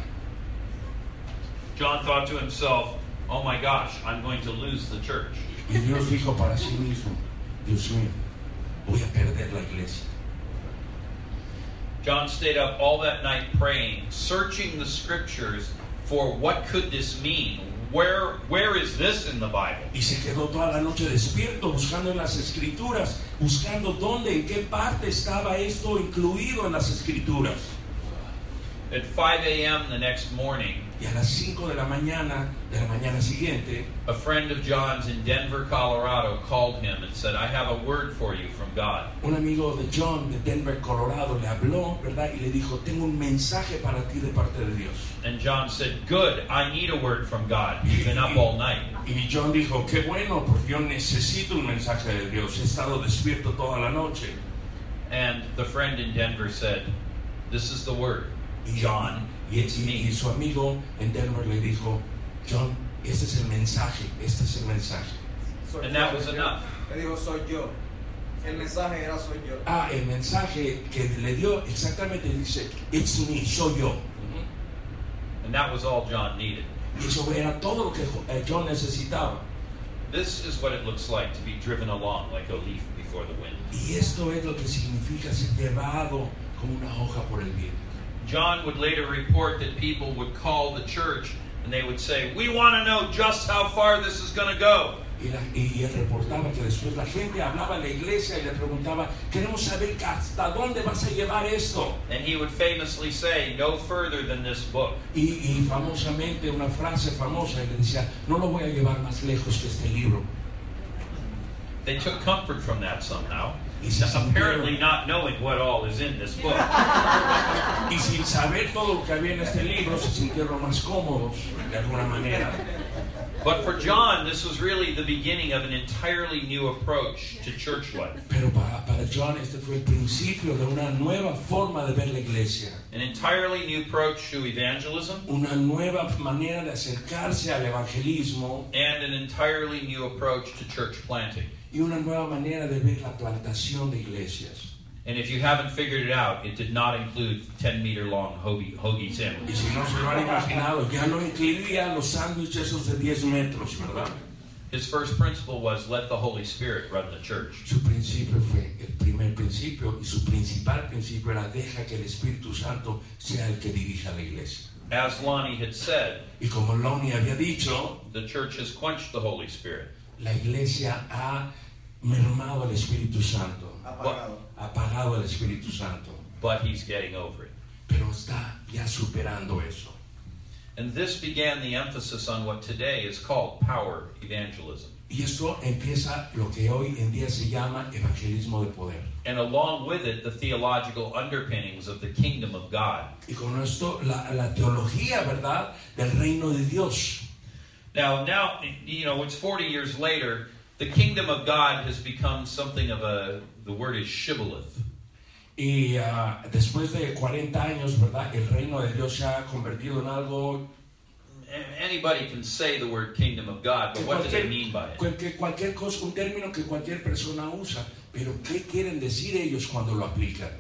John thought to himself, oh my gosh, I'm going to lose the church. Y Dios dijo para sí mismo, Dios mío, voy a perder la iglesia. John stayed up all that night praying, searching the scriptures for what could this mean? Where is this in the Bible? Y se quedó toda la noche despierto buscando en las escrituras, buscando dónde, en qué parte estaba esto incluido en las escrituras. At 5 a.m. the next morning, Y a las 5 de la mañana siguiente, a friend of John's in Denver, Colorado called him and said, I have a word for you from God. un amigo de John de Denver, Colorado, le habló, ¿verdad? Y le dijo, tengo un mensaje para ti de parte de Dios. And John said, good, I need a word from God. You've been up all night. Y John dijo, qué bueno, porque yo necesito un mensaje de Dios. He estado despierto toda la noche. And the friend in Denver said, this is the word. John, it's Y me. su amigo en Denver le dijo, John, este es el mensaje, este es el mensaje. And that was enough. Le dijo, soy yo. El mensaje era soy yo. El mensaje que le dio exactamente dice, it's me, soy yo. And that was all John needed. Y eso era todo lo que John necesitaba. This is what it looks like to be driven along like a leaf before the wind. Y esto es lo que significa ser llevado como una hoja por el viento. John would later report that people would call the church and they would say, we want to know just how far this is going to go. Y él reportaba que después la gente hablaba a la iglesia y le preguntaba, queremos saber hasta dónde vas a llevar esto. And he would famously say, no further than this book. Y famosamente, una frase famosa, y le decía, no lo voy a llevar más lejos que este libro. They took comfort from that somehow, Y se apparently sintieron, not knowing what all is in this book. y sin saber todo lo que había en este libro, se sintieron más cómodos de alguna manera. But for John, this was really the beginning of an entirely new approach to church life. Pero para John este fue el principio de una nueva forma de ver la iglesia. An entirely new approach to evangelism Una nueva manera de acercarse al evangelismo and an entirely new approach to church planting. y una nueva manera de ver la plantación de iglesias. And if you haven't figured it out, it did not include 10-meter long hoagie Y sandwiches. si no se lo han imaginado, ya no incluía los sándwiches esos de 10 metros, ¿verdad? His first principle was let the Holy Spirit run the church. Su principio fue el primer principio y su principal principio era deja que el Espíritu Santo sea el que dirija la iglesia. As Lonnie had said, Y como Lonnie había dicho, the church has quenched the Holy Spirit. la iglesia ha mermado al Espíritu Santo, Apagado. ha apagado al Espíritu Santo, But he's getting over it. pero está ya superando eso. And this began the emphasis on what today is called power evangelism. Y esto empieza lo que hoy en día se llama evangelismo de poder. And along with it, the theological underpinnings of the kingdom of God. Y con esto la teología, ¿verdad?, del reino de Dios. Now, it's 40 years later, the kingdom of God has become something of the word is shibboleth. Y después de 40 años, ¿verdad?, el reino de Dios se ha convertido en algo Anybody can say the word kingdom of God, but what do they mean by it? cualquier cosa, un término que cualquier persona usa, pero ¿qué quieren decir ellos cuando lo aplican?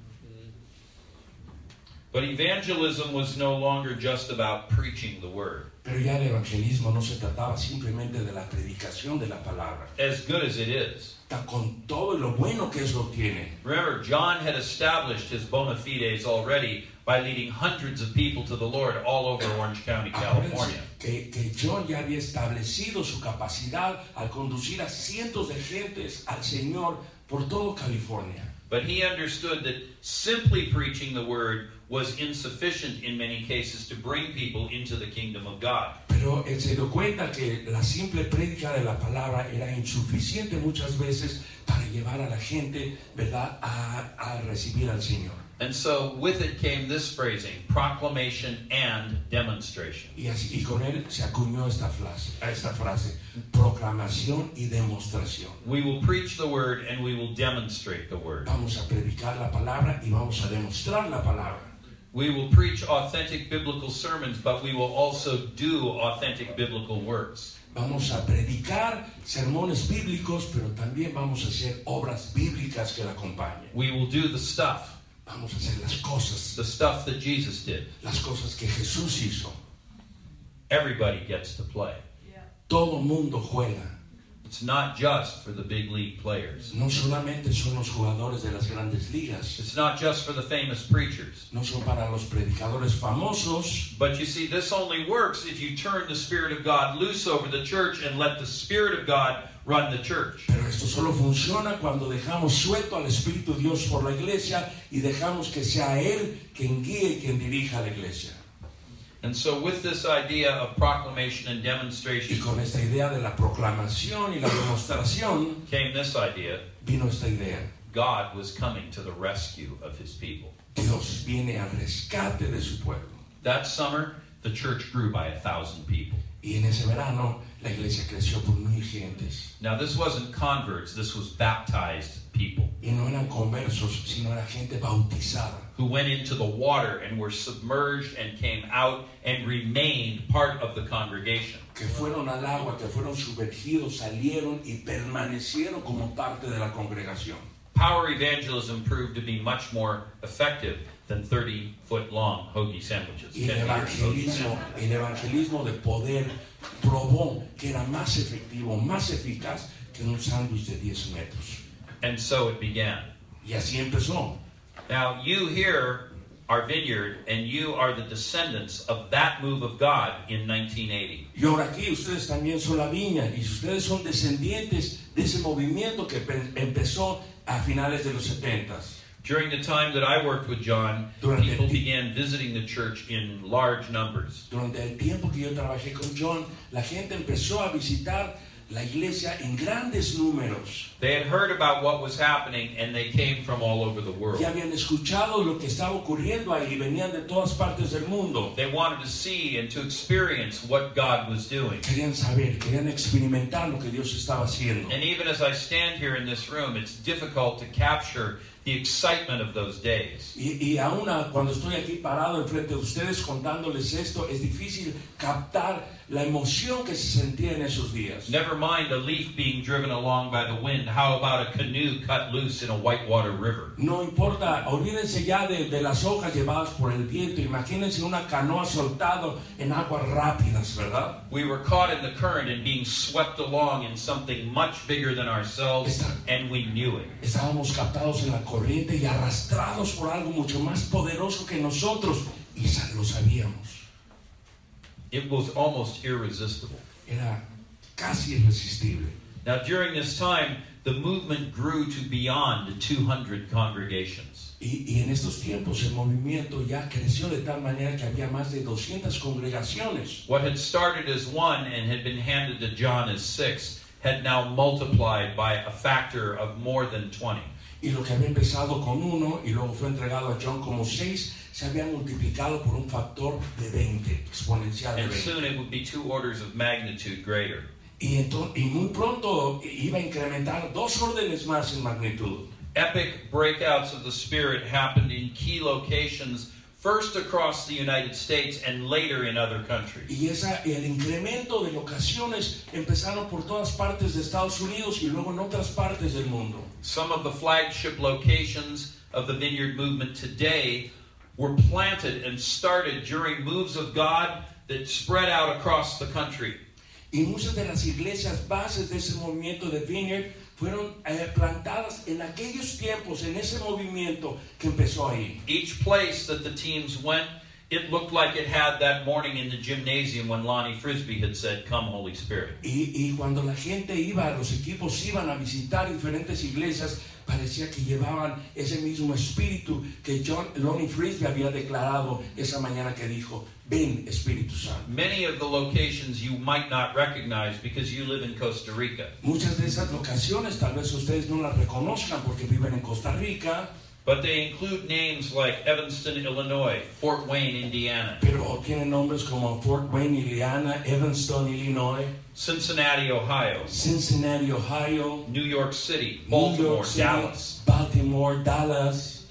But evangelism was no longer just about preaching the word. Pero ya el evangelismo no se trataba simplemente de la predicación de la palabra, As good as it is. con todo lo bueno que eso tiene. Remember, John had established his bona fides already by leading hundreds of people to the Lord all over Orange County, California. Acuérdense que John ya había establecido su capacidad al conducir a cientos de gentes al Señor por todo California. But he understood that simply preaching the word was insufficient in many cases to bring people into the kingdom of God. Pero él se dio cuenta que la simple prédica de la palabra era insuficiente muchas veces para llevar a la gente, ¿verdad?, a recibir al Señor. And so with it came this phrasing, proclamation and demonstration. Y con él se acuñó esta frase, proclamación y demostración. We will preach the word and we will demonstrate the word. Vamos a predicar la palabra y vamos a demostrar la palabra. We will preach authentic biblical sermons, but we will also do authentic biblical works. Vamos a predicar sermones bíblicos, pero también vamos a hacer obras bíblicas que la acompañen. We will do the stuff Vamos a hacer las cosas that Jesus did. que Jesús hizo. Everybody gets to play. Todo mundo juega. It's not just for the big league players. No solamente son los jugadores de las grandes ligas. It's not just for the famous preachers. No son para los predicadores famosos. But you see, this only works if you turn the Spirit of God loose over the church and let the Spirit of God run the church. Pero esto solo funciona cuando dejamos suelto al Espíritu Dios por la iglesia y dejamos que sea Él quien guíe y quien dirija la iglesia. And so with this idea of proclamation and Y demonstration con esta idea de la proclamación y la demostración came this idea. vino esta idea. God was coming to the rescue of his people. Dios viene al rescate de su pueblo. That summer, the church grew by 1,000 people. Y en ese verano la iglesia creció por 1,000 gentes. Now this wasn't converts, this was baptized people Y no eran conversos, sino era gente bautizada. who went into the water and were submerged and came out and remained part of the congregation. Que fueron al agua, que fueron sumergidos, salieron y permanecieron como parte de la congregación. Power evangelism proved to be much more effective than 30-foot-long hoagie sandwiches. Y 10 meters hoagie sandwiches. el evangelismo de poder probó que era más efectivo, más eficaz que un sándwich de 10 metros. And so it began. Y así empezó. Now you here are Vineyard, and you are the descendants of that move of God in 1980. Y ahora aquí ustedes también son la viña y ustedes son descendientes de ese movimiento que empezó a finales de los 70s. During the time that I worked with John, Durante people el ti- began visiting the church in large numbers. Durante el tiempo que yo trabajé con John, la gente empezó a visitar la iglesia en grandes números. They had heard about what was happening, and they came from all over the world. Ya habían escuchado lo que estaba ocurriendo ahí y venían de todas partes del mundo. They wanted to see and to experience what God was doing. Querían saber, querían experimentar lo que Dios estaba haciendo. And even as I stand here in this room, it's difficult to capture the excitement of those days. Y aún cuando estoy aquí parado enfrente de ustedes contándoles esto, es difícil captar la emoción que se sentía en esos días. Never mind a leaf being driven along by the wind. How about a canoe cut loose in a whitewater river? No importa, olvídense ya de las hojas llevadas por el viento. Imagínense una canoa soltado en aguas rápidas, ¿verdad? We were caught in the current and being swept along in something much bigger than ourselves, and we knew it. Estábamos captados en la corriente y arrastrados por algo mucho más poderoso que nosotros y lo sabíamos. It was almost irresistible. Era casi irresistible. Now, during this time, the movement grew to beyond 200 congregations. Y en estos tiempos el movimiento ya creció de tal manera que había más de 200 congregaciones. What had started as one and had been handed to John as 6 had now multiplied by a factor of more than 20. Y lo que había empezado con 1 y luego fue entregado a John como 6, se había multiplicado por un factor de 20, exponencial de And 20. soon it would be 2 orders of magnitude greater. Y muy pronto iba a incrementar 2 órdenes más en magnitud. Epic breakouts of the Spirit happened in key locations, first across the United States and later in other countries. Y el incremento de locaciones empezaron por todas partes de Estados Unidos y luego en otras partes del mundo. Some of the flagship locations of the Vineyard movement today were planted and started during moves of God that spread out across the country. Y muchas de las iglesias bases de ese movimiento de Vineyard fueron plantadas en aquellos tiempos, en ese movimiento que empezó ahí. Each place that the teams went, it looked like it had that morning in the gymnasium when Lonnie Frisbee had said, "Come, Holy Spirit." Y cuando la gente iba, los equipos iban a visitar diferentes iglesias, parecía que llevaban ese mismo espíritu que Lonnie Frisbee había declarado esa mañana que dijo, ven Espíritu Santo. Many of the locations you might not recognize because you live in Costa Rica. Muchas de esas locaciones tal vez ustedes no las reconozcan porque viven en Costa Rica, But they include names like Evanston, Illinois, Fort Wayne, Indiana, pero tienen nombres como Fort Wayne, Indiana, Evanston, Illinois, Cincinnati, Ohio, Cincinnati, Ohio, New York City, New Baltimore, York City, Dallas. Baltimore, Dallas.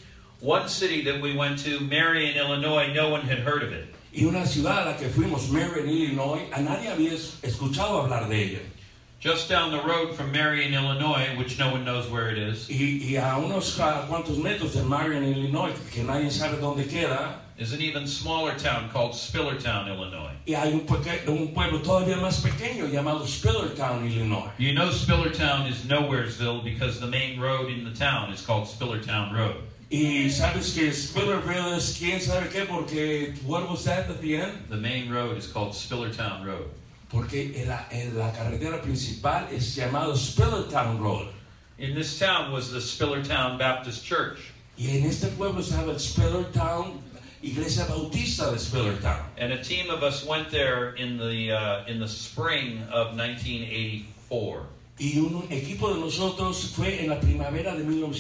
One city that we went to, Marion, Illinois, no one had heard of it. Y una ciudad a la que fuimos, Marion, Illinois, a nadie había escuchado hablar de ella. Just down the road from Marion, Illinois, which no one knows where it is, Y a unos cuantos metros de Marion, Illinois, que nadie sabe dónde queda, is an even smaller town called Spillertown, Illinois. y hay un pueblo todavía más pequeño llamado Spillertown, Illinois. You know Spillertown is Nowheresville because the main road in the town is called Spillertown Road. Y sabes que Spillerville es quién sabe qué, porque what was that at the end? The main road is called Spillertown Road. Porque en la carretera principal es llamado Spillertown Road. In this town was the Spillertown Baptist Church. Y en este pueblo estaba el Spillertown, Iglesia Bautista de Spillertown. And a team of us went there in the spring of 1984. Y un equipo de nosotros fue en la primavera de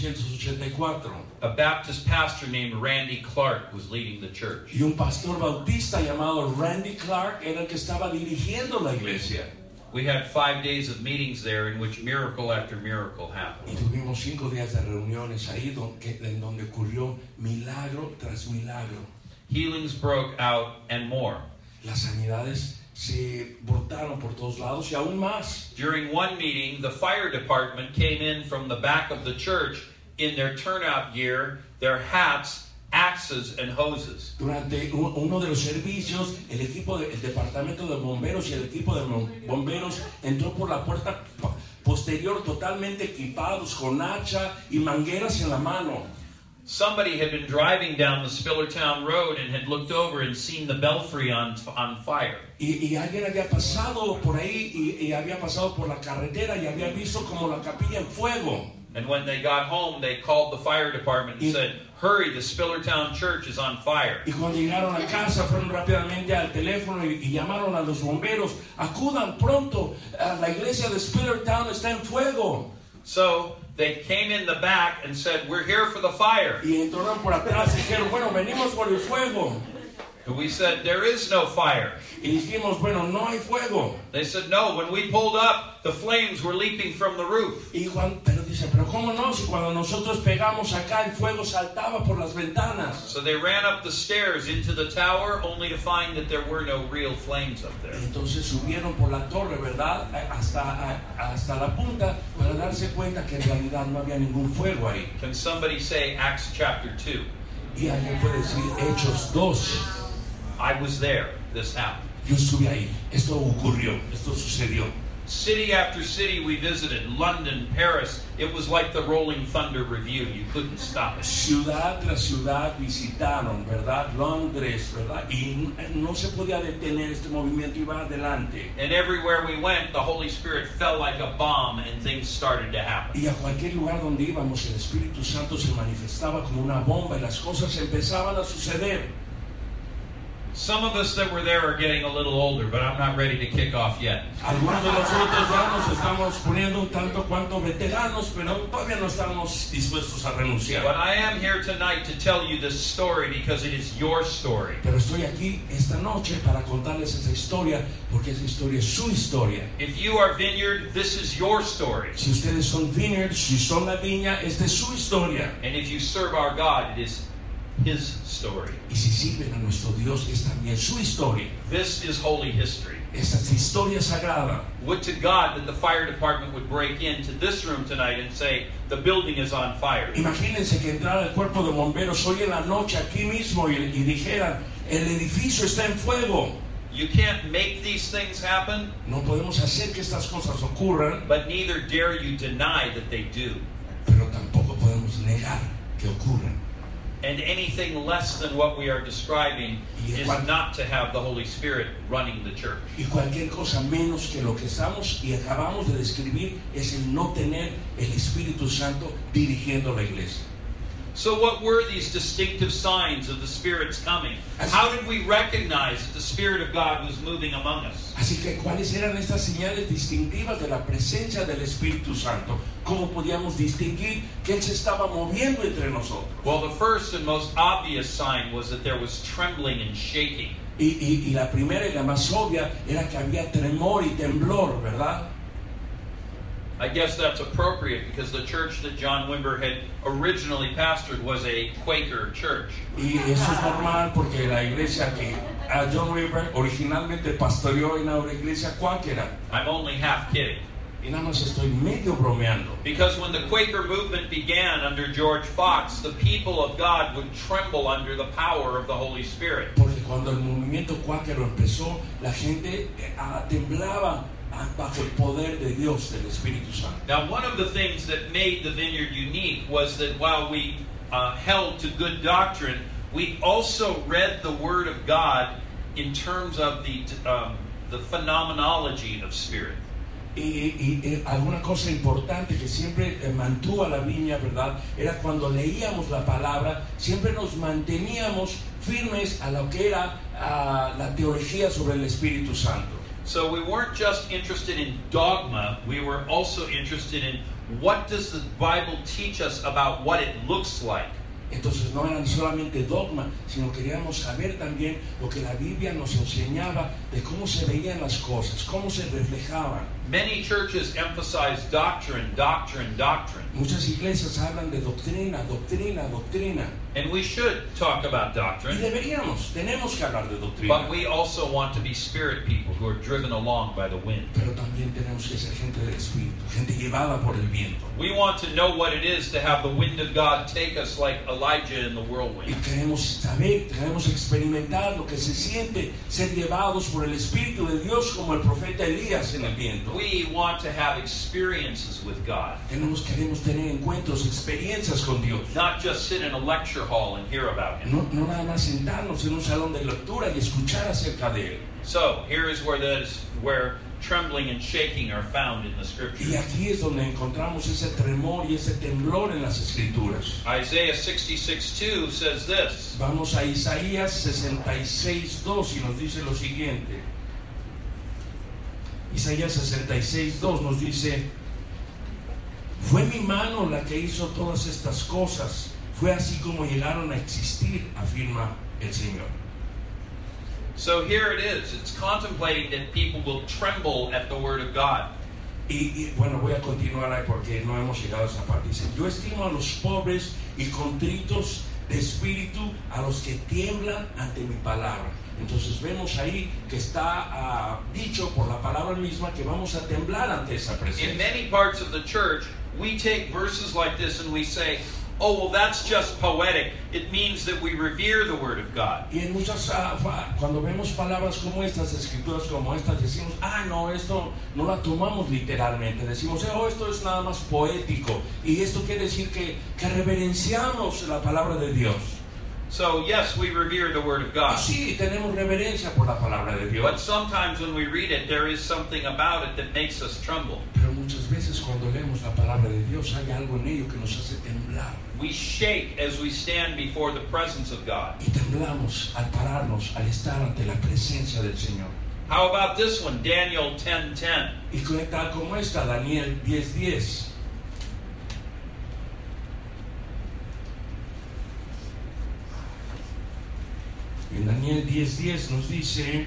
1984. A Baptist pastor named Randy Clark was leading the church. Y un pastor bautista llamado Randy Clark era el que estaba dirigiendo la iglesia. We had 5 days of meetings there in which miracle after miracle happened. Y tuvimos 5 días de reuniones ahí en donde ocurrió milagro tras milagro. Healings broke out and more. Las sanidades se brotaron por todos lados y aún más. During one meeting, the fire department came in from the back of the church in their turnout gear, their hats, axes, and hoses. Durante uno de los servicios, el departamento de bomberos y el equipo de bomberos entró por la puerta posterior totalmente equipados con hacha y mangueras en la mano. Somebody had been driving down the Spillertown Road and had looked over and seen the belfry on fire. Y alguien había pasado por ahí y había pasado por la carretera y había visto como la capilla en fuego. And when they got home, they called the fire department and said, "Hurry, the Spillertown Church is on fire." Y cuando llegaron a casa fueron rápidamente al teléfono y llamaron a los bomberos. Acudan pronto, la iglesia de Spillertown está en fuego. So they came in the back and said, "We're here for the fire." Y entraron por atrás y dijeron, bueno, venimos por el fuego. And we said, "There is no fire." Y dijimos, bueno, no hay fuego. They said, "No, when we pulled up, the flames were leaping from the roof." Y pero dice, pero ¿cómo no? Si cuando nosotros pegamos acá, el fuego saltaba por las ventanas. So they ran up the stairs into the tower only to find that there were no real flames up there. Entonces subieron por la torre, ¿verdad? Hasta la punta para darse cuenta que en realidad no había ningún fuego ahí. Can somebody say Acts chapter 2? Y alguien puede decir Hechos 2. I was there. This happened. Yo estuve ahí. Esto ocurrió. Esto sucedió. City after city we visited, London, Paris. It was like the Rolling Thunder Review. You couldn't stop it. Ciudad tras ciudad visitaron, ¿verdad? Londres, ¿verdad? Y no se podía detener este movimiento, iba adelante. And everywhere we went, the Holy Spirit fell like a bomb and things started to happen. Y a cualquier lugar donde íbamos, el Espíritu Santo se manifestaba como una bomba y las cosas empezaban a suceder. Some of us that were there are getting a little older, but I'm not ready to kick off yet. Algunos de nosotros ya nos estamos poniendo un tanto cuanto veteranos, pero todavía no estamos dispuestos a renunciar. But I am here tonight to tell you this story because it is your story. Pero estoy aquí esta noche para contarles esa historia, porque esa historia es su historia. If you are Vineyard, this is your story. Si ustedes son Vineyard, si son la viña, esta es su historia. And if you serve our God, it is His story. Y si sirven a nuestro Dios, es también su historia. This is holy history. Esta es historia sagrada. Would to God that the fire department would break into this room tonight and say, the building is on fire. Imagínense que entrara el cuerpo de bomberos hoy en la noche aquí mismo y dijeran, el edificio está en fuego. You can't make these things happen, No podemos hacer que estas cosas ocurran, but neither dare you deny that they do. pero tampoco podemos negar que ocurran. And anything less than what we are describing is not to have the Holy Spirit running the church. Y cualquier cosa menos que lo que estamos y acabamos de describir es el no tener el Espíritu Santo dirigiendo la iglesia. So what were these distinctive signs of the Spirit's coming? How did we recognize that the Spirit of God was moving among us? Así que, ¿cuáles eran estas señales distintivas de la presencia del Espíritu Santo? ¿Cómo podíamos distinguir que Él se estaba moviendo entre nosotros? Well, the first and most obvious sign was that there was trembling and shaking. Y la primera y la más obvia era que había tremor y temblor, ¿verdad? I guess that's appropriate because the church that John Wimber had originally pastored was a Quaker church. Y eso es normal porque la iglesia que a John Wimber originalmente pastoreó en una iglesia cuáquera. I'm only half kidding. Y nada más estoy medio bromeando. Because when the Quaker movement began under George Fox, the people of God would tremble under the power of the Holy Spirit. Porque cuando el movimiento cuáquero empezó, la gente temblaba bajo el poder de Dios, del Espíritu Santo. Now, one of the things that made the Vineyard unique was that while we held to good doctrine, we also read the Word of God in terms of the phenomenology of spirit. Y alguna cosa importante que siempre mantuvo a la viña, ¿verdad? Era cuando leíamos la palabra, siempre nos manteníamos firmes a lo que era la teología sobre el Espíritu Santo. So we weren't just interested in dogma, we were also interested in what does the Bible teach us about what it looks like. Entonces no eran solamente dogma, sino queríamos saber también lo que la Biblia nos enseñaba de cómo se veían las cosas, cómo se reflejaban. Many churches emphasize doctrine, doctrine, doctrine. Muchas iglesias hablan de doctrina, doctrina, doctrina. And we should talk about Y doctrine, tenemos que hablar de doctrina. but we also want to be spirit people who are driven along by the wind. Pero también tenemos que ser gente del Espíritu, gente llevada por el viento. We want to know what it is to have the wind of God take us like Elijah in the Y whirlwind. queremos saber, queremos experimentar lo que se siente ser llevados por el Espíritu de Dios como el profeta Elías en el viento. We want to have experiences with God, Queremos tener encuentros, experiencias con Dios. not just sit in a lecture hall and hear about Him. No nada más sentarnos en un salón de lectura y escuchar acerca de Él. So here is where trembling and shaking are found in the Y Scriptures. aquí es donde encontramos ese tremor y ese temblor en las Escrituras. Isaiah 66:2 says this. Vamos a Isaías 66:2 y nos dice lo siguiente. Isaías 66:2 nos dice: fue mi mano la que hizo todas estas cosas, fue así como llegaron a existir, afirma el Señor. So here it is. It's contemplating that people will tremble at the Word of God. Y bueno, voy a continuar ahí porque no hemos llegado a esa parte. Dice: yo estimo a los pobres y contritos de espíritu, a los que tiemblan ante mi palabra. Entonces vemos ahí que está dicho por la palabra misma que vamos a temblar ante esa In presencia. many parts of the church, we take verses like this and we say, oh, well, that's just poetic. It means that we revere the Word of God. Y en muchas, cuando vemos palabras como estas, escrituras como estas, decimos: no, esto no la tomamos literalmente. Decimos: esto es nada más poético. Y esto quiere decir que reverenciamos la palabra de Dios. So, yes, we revere the Word of Y God. sí, tenemos reverencia por la palabra de But Dios. sometimes when we read it, there is something about it that makes us tremble. Pero muchas veces cuando leemos la palabra de Dios hay algo en ello que nos hace temblar. We shake as we stand before the presence of God. Y temblamos al pararnos, al estar ante la presencia del Señor. How about this one, Daniel 10:10? Y tal como esta, Daniel 10:10. En Daniel 10:10 nos dice: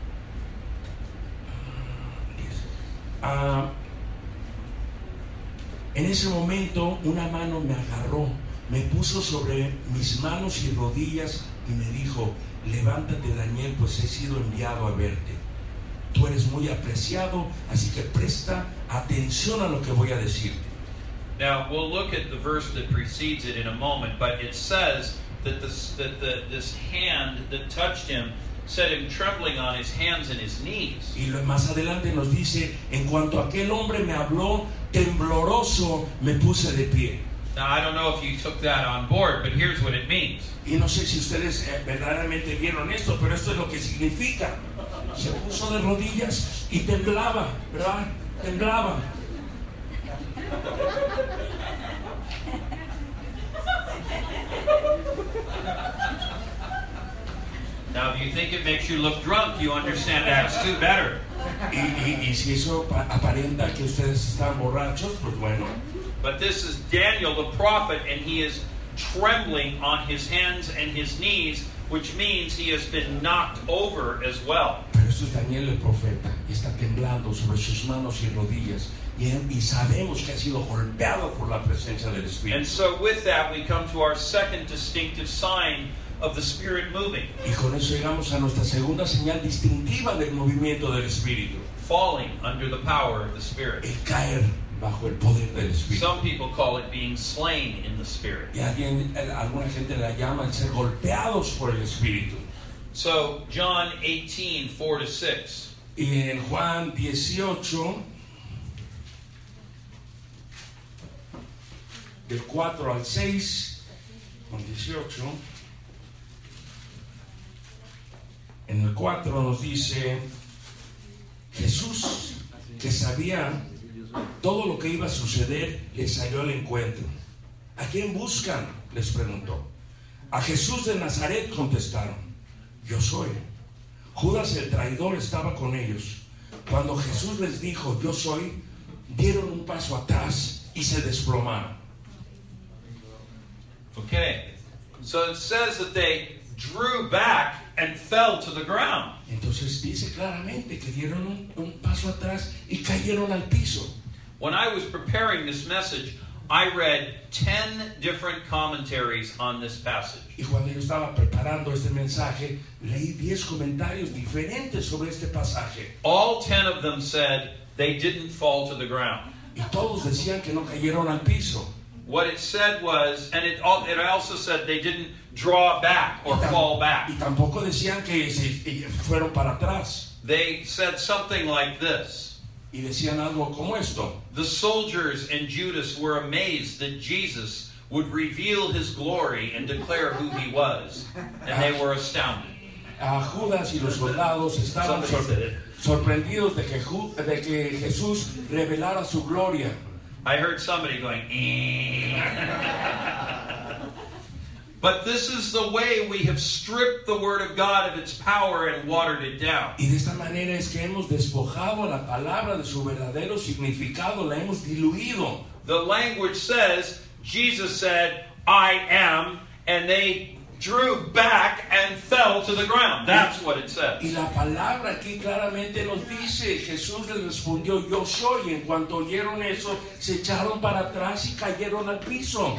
en ese momento una mano me agarró, me puso sobre mis manos y rodillas y me dijo: levántate, Daniel, pues he sido enviado a verte. Tú eres muy apreciado, así que presta atención a lo que voy a decirte. Now, we'll look at the verse that precedes it in a moment, but it says that this hand that touched him set him trembling on his hands and his knees. Y más adelante nos dice: en cuanto aquel hombre me habló, tembloroso me puse de pie. Now, I don't know if you took that on board, but here's what it means. Y no sé si ustedes verdaderamente vieron esto, pero esto es lo que significa. Se puso de rodillas y temblaba, ¿verdad? Temblaba. Now, if you think it makes you look drunk, you understand Acts 2 better. Y si eso aparenta que ustedes están borrachos, pues bueno. But this is Daniel the prophet, and he is trembling on his hands and his knees which means he has been knocked over as well. Pero esto es Daniel el profeta, y está temblando sobre sus manos y rodillas, y sabemos que ha sido golpeado por la presencia del And Espíritu. so with that, we come to our second distinctive sign of the Spirit moving, Y con eso llegamos a nuestra segunda señal distintiva del movimiento del Espíritu, falling under the power of the Spirit. el caer bajo el poder del Espíritu. Some people call it being slain in the Spirit. Y alguna gente la llama el ser golpeados por el Espíritu. So John 18, 4-6. Y en Juan 18, del 4 al 6, Juan 18, en el 4 nos dice, Jesús, que sabía todo lo que iba a suceder, le salió al encuentro. ¿A quién buscan?, les preguntó. A Jesús de Nazaret, contestaron. Yo soy. Judas el traidor estaba con ellos. Cuando Jesús les dijo, yo soy, dieron un paso atrás y se desplomaron. Okay. So it says that they drew back and fell to the ground. Entonces dice claramente que dieron un paso atrás y cayeron al piso. When I was preparing this message, I read 10 different commentaries on this passage. Y cuando yo estaba preparando este mensaje, leí 10 comentarios diferentes sobre este pasaje. All 10 of them said they didn't fall to the ground. Y todos decían que no cayeron al piso. What it said was, and it also said they didn't draw back or fall back. Y tampoco decían que se fueron para atrás. They said something like this. Y decían algo como esto. The soldiers and Judas were amazed that Jesus would reveal his glory and declare who he was. And they were astounded. A Judas y los soldados estaban sorprendidos de que Jesús revelara su gloria. I heard somebody going, But this is the way we have stripped the Word of God of its power and watered it down. Y de esta manera es que hemos despojado a la palabra de su verdadero significado, la hemos diluido. The language says, Jesus said, I am, and they drew back and fell to the ground. That's what it says. Y la palabra aquí claramente nos dice, Jesús les respondió, yo soy. En cuanto oyeron eso, se echaron para atrás y cayeron al piso.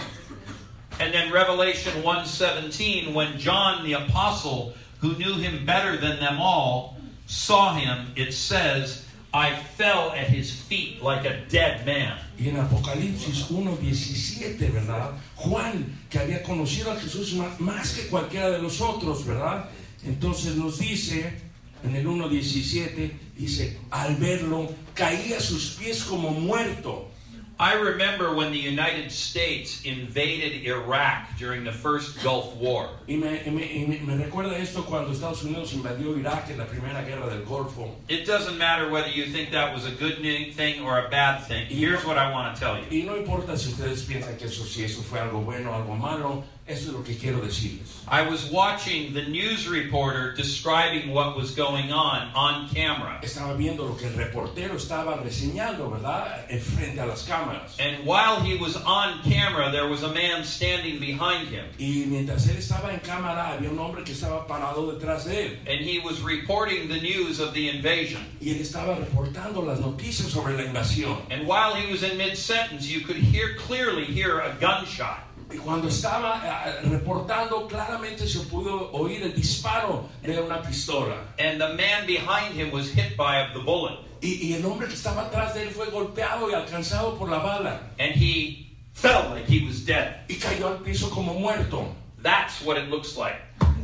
And then Revelation 1:17, when John the apostle, who knew him better than them all, saw him, it says, I fell at his feet like a dead man. Y en Apocalipsis 1:17, ¿verdad? Juan, que había conocido a Jesús más que cualquiera de los otros, ¿verdad? Entonces nos dice, en el 1:17, dice, al verlo, caía a sus pies como muerto. I remember when the United States invaded Iraq during the first Gulf War. Y me recuerda esto cuando Estados Unidos invadió Irak en la primera guerra del Golfo. It doesn't matter whether you think that was a good thing or a bad thing. Here's what I want to tell you. Y no importa si ustedes piensan que eso fue algo bueno o algo malo, eso es lo que quiero decirles. I was watching the news reporter describing what was going on camera. Estaba viendo lo que el reportero estaba reseñando, ¿verdad? Frente a las cámaras. And while he was on camera, there was a man standing behind him. Y mientras él estaba en cámara, había un hombre que estaba parado detrás de él. And he was reporting the news of the invasion. Y él estaba reportando las noticias sobre la invasión. And while he was in mid-sentence, you could clearly hear a gunshot. Y cuando estaba reportando, claramente se pudo oír el disparo de una pistola. And the man behind him was hit by the bullet. Y el hombre que estaba atrás de él fue golpeado y alcanzado por la bala. And he fell like he was dead. Y cayó al piso como muerto. That's what it looks like.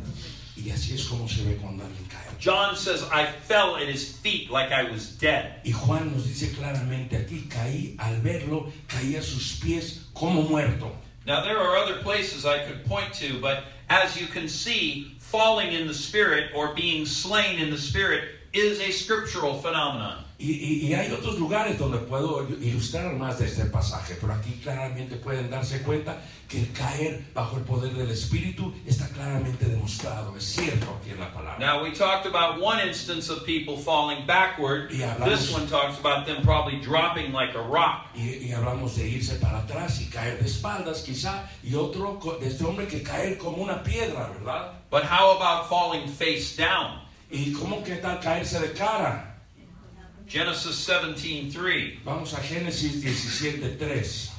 Y así es como se ve cuando alguien cae. John says, I fell at his feet like I was dead. Y Juan nos dice claramente aquí, al verlo, caí a sus pies como muerto. Now, there are other places I could point to, but as you can see, falling in the Spirit or being slain in the Spirit is a scriptural phenomenon. Y hay otros lugares donde puedo ilustrar más de este pasaje, pero aquí claramente pueden darse cuenta que el caer bajo el poder del Espíritu está claramente demostrado. Es cierto aquí en la palabra. Now, we talked about one instance of people falling backward. Y hablamos- This one talks about them probably dropping like a rock. Y hablamos de irse para atrás y caer de espaldas quizá, y otro de este hombre que caer como una piedra, ¿verdad? But how about falling face down? ¿Y cómo que tal caerse de cara? Genesis 17:3. Vamos a Génesis 17:3.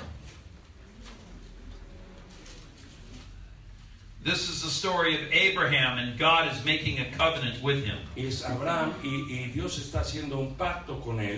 This is the story of Abraham, and God is making a covenant with him. Es Abraham y Dios está haciendo un pacto con él.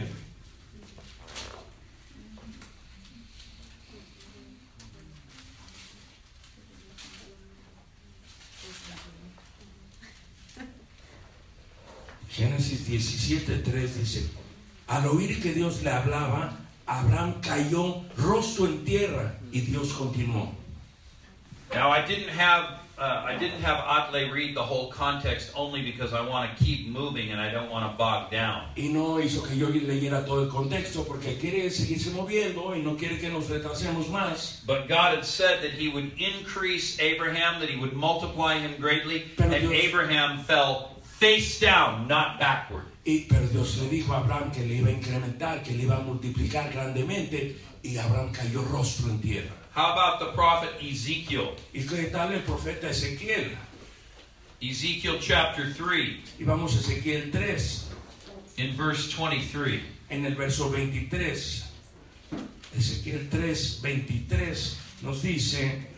Génesis 17:3 dice: al oír que Dios le hablaba, Abraham cayó rostro en tierra, y Dios continuó. Now, I didn't have Atle read the whole context only because I want to keep moving and I don't want to bog down. Y no hizo que yo leyera todo el contexto porque quiere seguirse moviendo y no quiere que nos retrasemos más. But God had said that He would increase Abraham, that He would multiply him greatly, Pero and Dios- Abraham fell face down, not backward. Pero Dios le dijo a Abraham que le iba a incrementar, que le iba a multiplicar grandemente, y Abraham cayó rostro en tierra. How about the prophet Ezekiel? ¿Y qué tal el profeta Ezequiel? Ezekiel chapter 3, Y vamos a Ezequiel 3, in verse 23. en el verso 23. Ezequiel 3, 23 nos dice: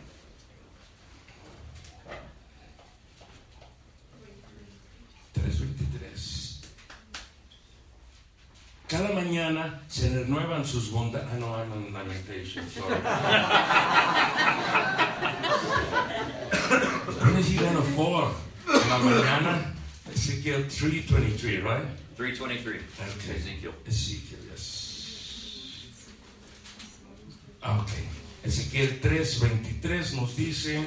cada mañana se renuevan sus bondades. Ah, no, I'm on lamentation, sorry. When is he gonna fall? En la mañana. Ezekiel 3:23, right? 3:23. Okay. Ezekiel. Ezekiel, yes. Okay. Ezequiel 3:23 nos dice: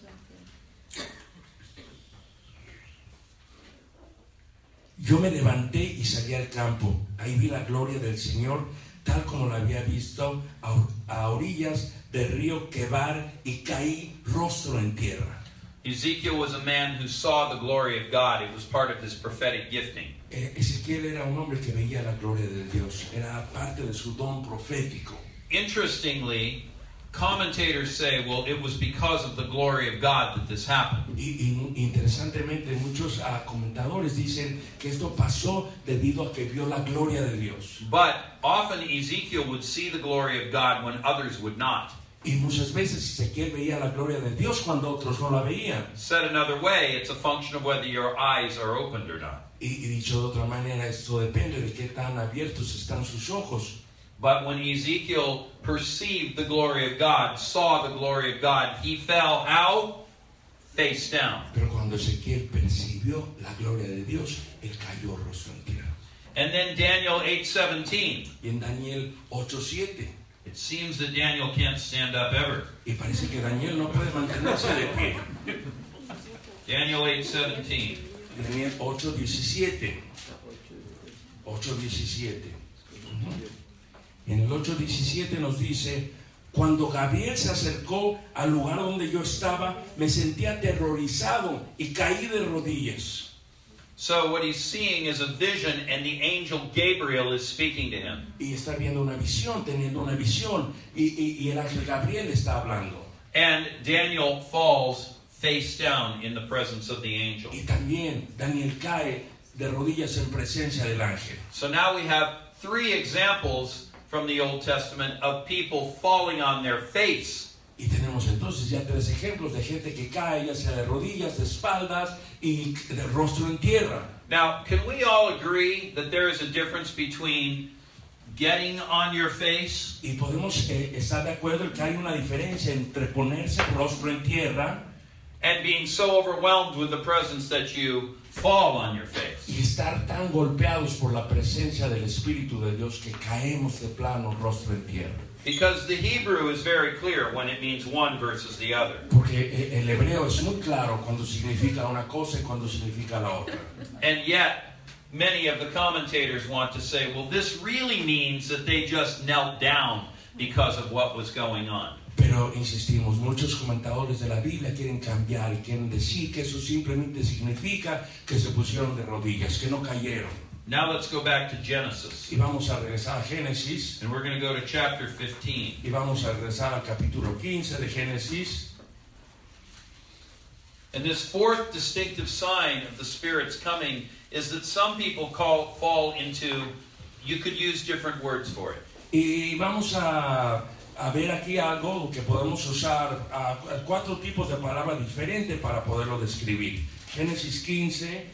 yo me levanté y salí al campo. Ahí vi la gloria del Señor, tal como la había visto a orillas del río Quebar, y caí rostro en tierra. Ezekiel was a man who saw the glory of God. It was part of his prophetic gifting. Ezequiel era un hombre que veía la gloria de Dios. Era parte de su don profético. Interestingly, commentators say, well, it was because of the glory of God that this happened. Y interesantemente, muchos comentadores dicen que esto pasó debido a que vio la gloria de Dios. But often Ezekiel would see the glory of God when others would not. Y muchas veces Ezequiel veía la gloria de Dios cuando otros no la veían. Said another way, it's a function of whether your eyes are opened or not. Y dicho de otra manera, esto depende de qué tan abiertos están sus ojos. But when Ezekiel perceived the glory of God, saw the glory of God, he fell how? Face down. Pero cuando Ezequiel percibió la gloria de Dios, él cayó rostro en tierra. And then Daniel 8:17. Y en Daniel 8:7, It seems that Daniel can't stand up ever. y parece que Daniel no puede mantenerse de pie. Daniel 8:17. Daniel 8:17. 8:17. En el 8:17 nos dice: cuando Gabriel se acercó al lugar donde yo estaba, me sentí aterrorizado y caí de rodillas. So what he's seeing is a vision, and the angel Gabriel is speaking to him. Y está viendo una visión, teniendo una visión, y el ángel Gabriel está hablando. And Daniel falls face down in the presence of the angel. Y también Daniel cae de rodillas en presencia del ángel. So now we have three examples from the Old Testament of people falling on their face. Y tenemos entonces ya 3 ejemplos de gente que cae, ya sea de rodillas, de espaldas y de rostro en tierra. Now, can we all agree that there is a difference between getting on your face Y podemos estar de acuerdo en que hay una diferencia entre ponerse rostro en tierra and being so overwhelmed with the presence that you fall on your face? y estar tan golpeados por la presencia del Espíritu de Dios que caemos de plano rostro en tierra? Because the Hebrew is very clear when it means one versus the other. Porque el hebreo es muy claro cuando significa una cosa y cuando significa la otra. And yet, many of the commentators want to say, well, this really means that they just knelt down because of what was going on. Pero insistimos, muchos comentadores de la Biblia quieren cambiar y quieren decir que eso simplemente significa que se pusieron de rodillas, que no cayeron. Now let's go back to Genesis. Y vamos a regresar a Génesis. And we're going to go to chapter 15. Y vamos a regresar al capítulo 15 de Génesis. And this fourth distinctive sign of the Spirit's coming is that some people fall into, you could use different words for it. Y vamos a ver aquí algo que podemos usar, 4 tipos de palabras diferentes para poderlo describir. Génesis 15.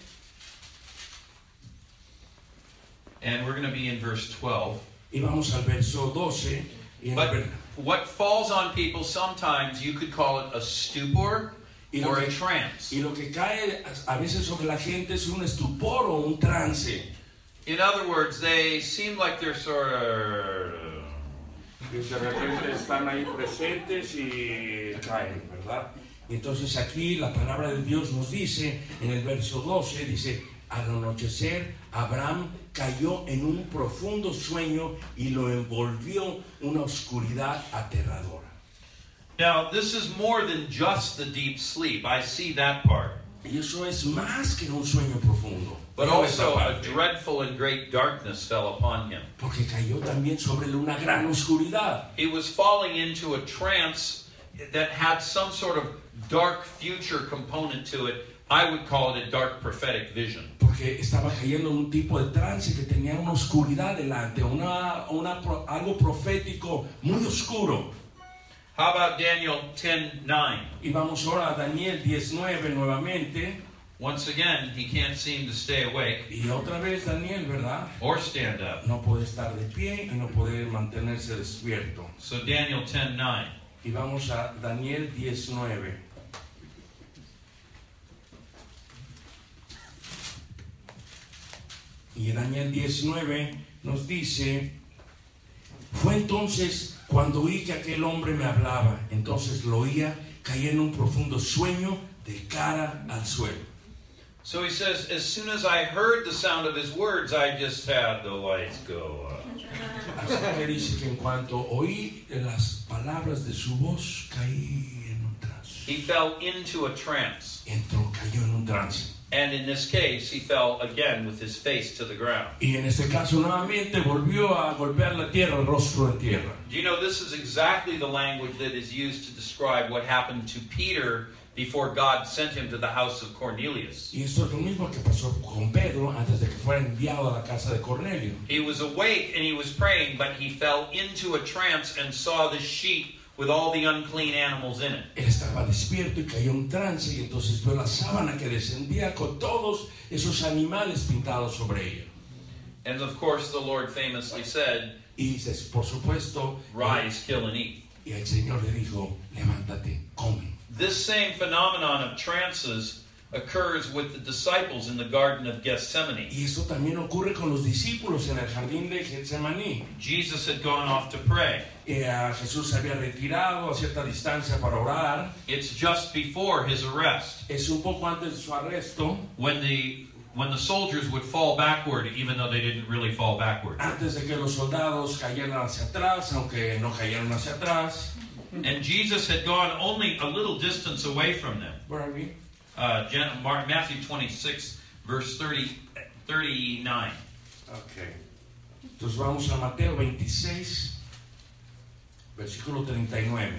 And we're going to be in verse 12. Y vamos al verso 12. Y But what falls on people sometimes, you could call it a stupor or a trance. Y lo que cae a veces sobre la gente es un estupor o un trance. In other words, they seem like they're sort of... De repente están ahí presentes y caen, ¿verdad? Y entonces aquí la palabra de Dios nos dice, en el verso 12, dice, al anochecer Abraham cayó en un profundo sueño y lo envolvió una oscuridad aterradora. Now, this is more than just the deep sleep. I see that part. Y eso es más que un sueño profundo. But Veo esa also a parte. dreadful and great darkness fell upon him. Porque cayó también sobre él una gran oscuridad. He was falling into a trance that had some sort of dark future component to it. I would call it a dark prophetic vision. Porque estaba cayendo en un tipo de trance que tenía una oscuridad delante, algo profético muy oscuro. How about Daniel 10:9? Y vamos ahora a Daniel 19 nuevamente. Once again, he can't seem to stay awake Y otra vez Daniel, ¿verdad? or stand up. No puede estar de pie y no puede mantenerse despierto. So Daniel 10:9. Y vamos a Daniel 19. Y en Daniel 19 nos dice, fue entonces cuando oí que aquel hombre me hablaba, entonces lo oía, caí en un profundo sueño de cara al suelo. So he says, as soon as I heard the sound of his words, I just had the lights go up. Así que dice que en cuanto oí las palabras de su voz, caí en un trance. He fell into a trance. Cayó en un trance. And in this case, he fell again with his face to the ground. Y en este caso nuevamente volvió a golpear la tierra, el rostro en tierra. Do you know this is exactly the language that is used to describe what happened to Peter before God sent him to the house of Cornelius? Y esto es lo mismo que pasó con Pedro antes de que fuera enviado a la casa de Cornelio. He was awake and he was praying, but he fell into a trance and saw the sheet with all the unclean animals in it. Él estaba despierto y cayó en trance y entonces vio la sábana que descendía con todos esos animales pintados sobre ella. And of course, the Lord famously said, Y por supuesto, rise, kill, and eat. y el Señor le dijo, levántate, come. This same phenomenon of trances occurs with the disciples in the Garden of Gethsemane. Y esto también ocurre con los discípulos en el jardín de Getsemaní. Jesus had gone off to pray. Jesús se había retirado a cierta distancia para orar. It's just before his arrest. Es un poco antes de su arresto. When the soldiers would fall backward, even though they didn't really fall backward. Antes de que los soldados cayeran hacia atrás, aunque no cayeran hacia atrás. And Jesus had gone only a little distance away from them. Where are we? Matthew 26, verse 39. Okay. Entonces vamos a Mateo 26, versículo 39.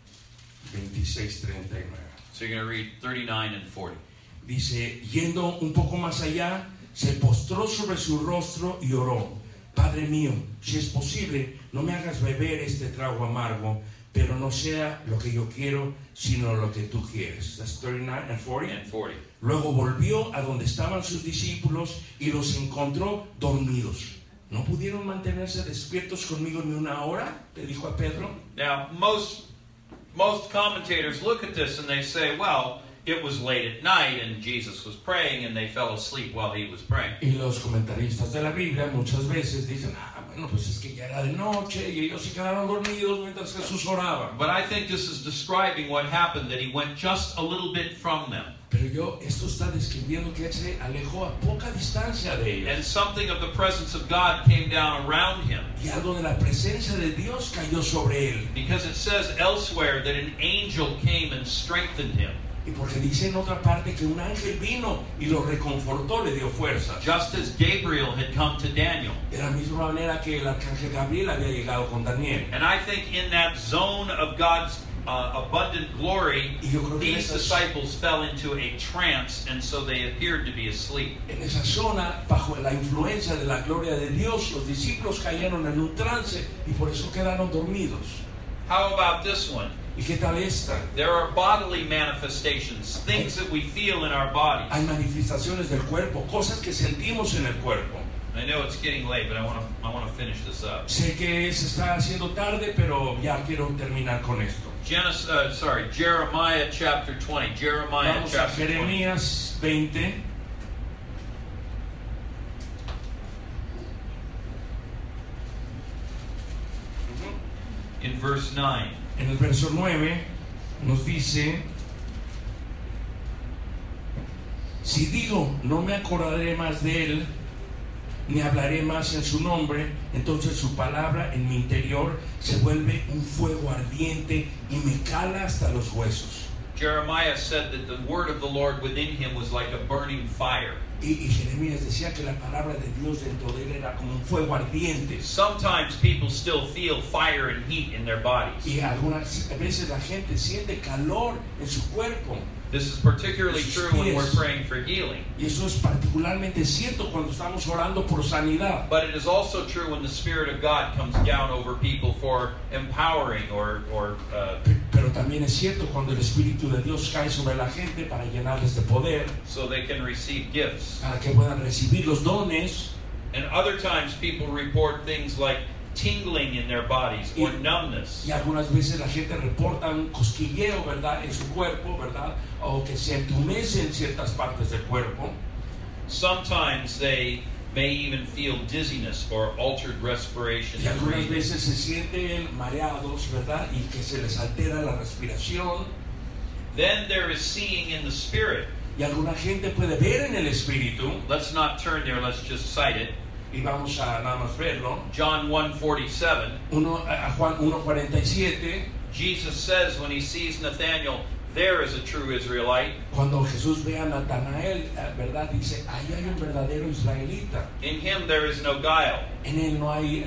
26, 39. So you're going to read 39 and 40. Dice, yendo un poco más allá, se postró sobre su rostro y oró. Padre mío, si es posible, no me hagas beber este trago amargo, pero no sea lo que yo quiero, sino lo que tú quieres. That's 39 and 40. And 40. Luego volvió a donde estaban sus discípulos y los encontró dormidos. ¿No pudieron mantenerse despiertos conmigo ni una hora? Le dijo a Pedro. Now, most commentators look at this and they say, well, it was late at night and Jesus was praying and they fell asleep while he was praying. Y los comentaristas de la Biblia muchas veces dicen, Bueno, pues es que ya era de noche y ellos se quedaron dormidos mientras Jesús oraba. But I think this is describing what happened, that he went just a little bit from them. Pero esto está describiendo que él se alejó a poca distancia de ellos. And something of the presence of God came down around him. Y algo de la presencia de Dios cayó sobre él. Because it says elsewhere that an angel came and strengthened him. Y porque dice en otra parte que un ángel vino y lo reconfortó, le dio fuerza. Just as Gabriel had come to Daniel. De la misma manera que el arcángel Gabriel había llegado con Daniel. And I think in that zone of God's abundant glory, these disciples fell into a trance, and so they appeared to be asleep. En esa zona, bajo la influencia de la gloria de Dios, los discípulos cayeron en un trance y por eso quedaron dormidos. How about this one? ¿Y qué tal esta? There are bodily manifestations, things that we feel in our bodies. Hay manifestaciones del cuerpo, cosas que sentimos en el cuerpo. I know it's getting late, but I want to finish this up. Sé que se está haciendo tarde, pero ya quiero terminar con esto. Jeremiah chapter 20. Jeremiah Vamos a chapter 20. Jeremías 20. In verse 9. En el verso 9 nos dice: si digo, no me acordaré más de él, ni hablaré más en su nombre, entonces su palabra en mi interior se vuelve un fuego ardiente y me cala hasta los huesos. Jeremiah said that the word of the Lord within him was like a burning fire. Y Jeremías decía que la palabra de Dios dentro de él era como un fuego ardiente. Sometimes people still feel fire and heat in their bodies. Y algunas veces la gente siente calor en su cuerpo. This is particularly true when we're praying for healing. Y eso es particularmente cierto cuando estamos orando por sanidad. But it is also true when the Spirit of God comes down over people for empowering Pero también es cierto cuando el Espíritu de Dios cae sobre la gente para llenarles de poder, so they can receive gifts. para que puedan recibir los dones. And other times people report things like tingling in their bodies or numbness. Y algunas veces la gente reporta un cosquilleo, ¿verdad?, en su cuerpo, ¿verdad?, o que se entumece en ciertas partes del cuerpo. Sometimes they may even feel dizziness or altered respiration. Y algunas veces se sienten mareados, ¿verdad?, y que se les altera la respiración. Then there is seeing in the Spirit. Y alguna gente puede ver en el Espíritu. Let's not turn there, let's just cite it. Y vamos a nada más verlo. John 1:47. Juan 1:47. Jesus says when he sees Nathanael, there is a true Israelite. Cuando Jesús ve a Natanael, ¿verdad?, dice, ahí hay un verdadero israelita. In him there is no guile. En él no hay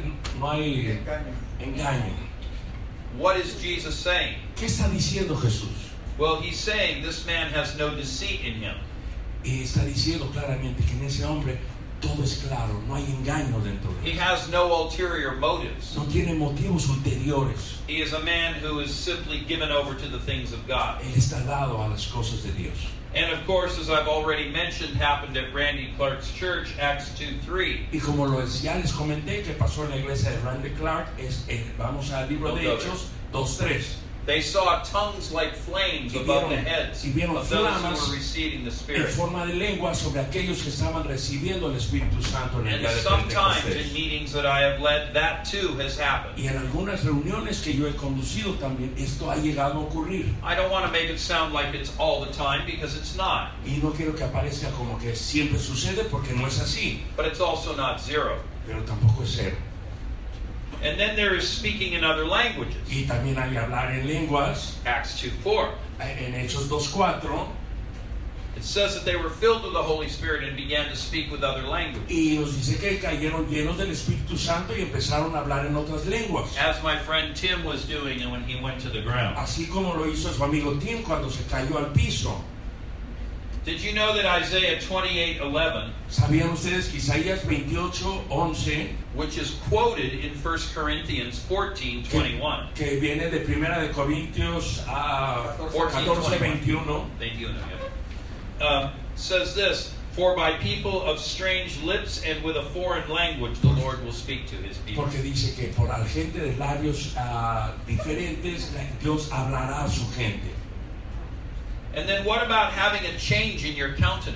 engaño. What is Jesus saying? ¿Qué está diciendo Jesús? Well, he's saying this man has no deceit in him. Y está diciendo claramente que en ese hombre todo es claro, no hay engaño dentro de He él. has no ulterior motives. No tiene motivos ulteriores. He is a man who is simply given over to the things of God. Él está dado a las cosas de Dios. And of course, as I've already mentioned, happened at Randy Clark's church, Acts 2:3. Y como ya les comenté que pasó en la iglesia de Randy Clark, vamos al libro de Hechos 2:3. They saw tongues like flames above the heads of those who were receiving the En Spirit. forma de lengua sobre aquellos que estaban recibiendo el Espíritu Santo en el And día de sometimes in Pentecostés. meetings that I have led, that too has happened. Y en algunas reuniones que yo he conducido también esto ha llegado a ocurrir. I don't want to make it sound like it's all the time because it's not. Y no quiero que aparezca como que siempre sucede porque no es así, But it's also not zero. pero tampoco es cero. And then there is speaking in other languages. Y también hay hablar en lenguas. Acts 2:4. En Hechos 2:4 It says that they were filled with the Holy Spirit and began to speak with other languages. y nos dice que cayeron llenos del Espíritu Santo y empezaron a hablar en otras lenguas. As my friend Tim was doing when he went to the ground. Así como lo hizo su amigo Tim cuando se cayó al piso. Did you know that Isaiah 28:11, ¿Sabían ustedes que Isaías 28:11, which is quoted in 1 Corinthians 14:21, que viene de Primera de Corintios a 14:21, says this, "For by people of strange lips and with a foreign language the Lord will speak to his people." porque dice que por la gente de labios diferentes Dios hablará a su gente. And then what about having a change in your countenance?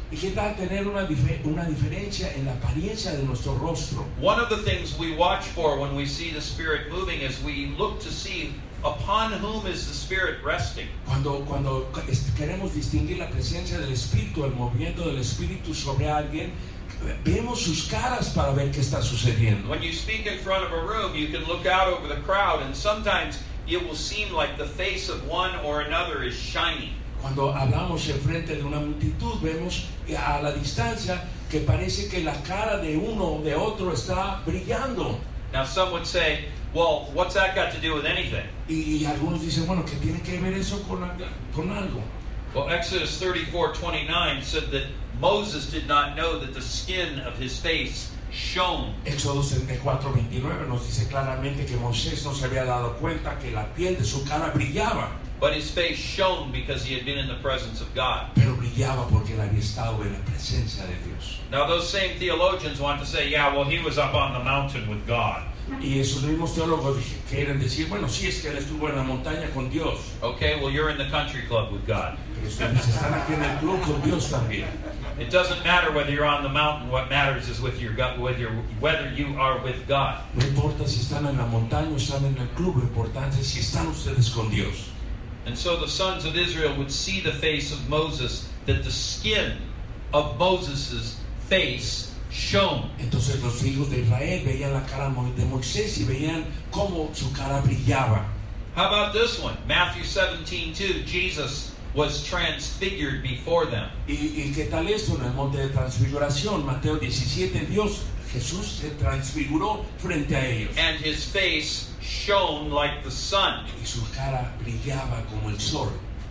¿Y qué tal tener una diferencia en la apariencia de nuestro rostro? One of the things we watch for when we see the Spirit moving is we look to see upon whom is the Spirit resting. Cuando queremos distinguir la presencia del Espíritu, el movimiento del Espíritu sobre alguien, vemos sus caras para ver qué está sucediendo. When you speak in front of a room, you can look out over the crowd, and sometimes it will seem like the face of one or another is shining. Cuando hablamos en frente de una multitud, vemos a la distancia que parece que la cara de uno o de otro está brillando. Now some would say, well, what's that got to do with anything? Y algunos dicen, bueno, ¿qué tiene que ver eso con algo? Well, Exodus 34:29 said that Moses did not know that the skin of his face shone. Éxodo 34:29 nos dice claramente que Moisés no se había dado cuenta que la piel de su cara brillaba. But his face shone because he had been in the presence of God. Pero brillaba porque él había estado en la presencia de Dios. Now those same theologians want to say, yeah, well, he was up on the mountain with God. Y esos mismos teólogos quieren decir, bueno, sí, es que él estuvo en la montaña con Dios. Okay, well, you're in the country club with God. Pero ustedes están aquí en el club con Dios también. It doesn't matter whether you're on the mountain. What matters is whether you are with God. No importa si están en la montaña o están en el club, lo importante es si están ustedes con Dios. And so the sons of Israel would see the face of Moses, that the skin of Moses' face shone. Entonces los hijos de Israel veían la cara de Moisés y veían cómo su cara brillaba. How about this one? Matthew 17:2, Jesus was transfigured before them. ¿Y qué tal esto en el monte de transfiguración? Mateo 17, Jesús se transfiguró frente a ellos. And his face shone like the sun. Y su cara brillaba como el sol.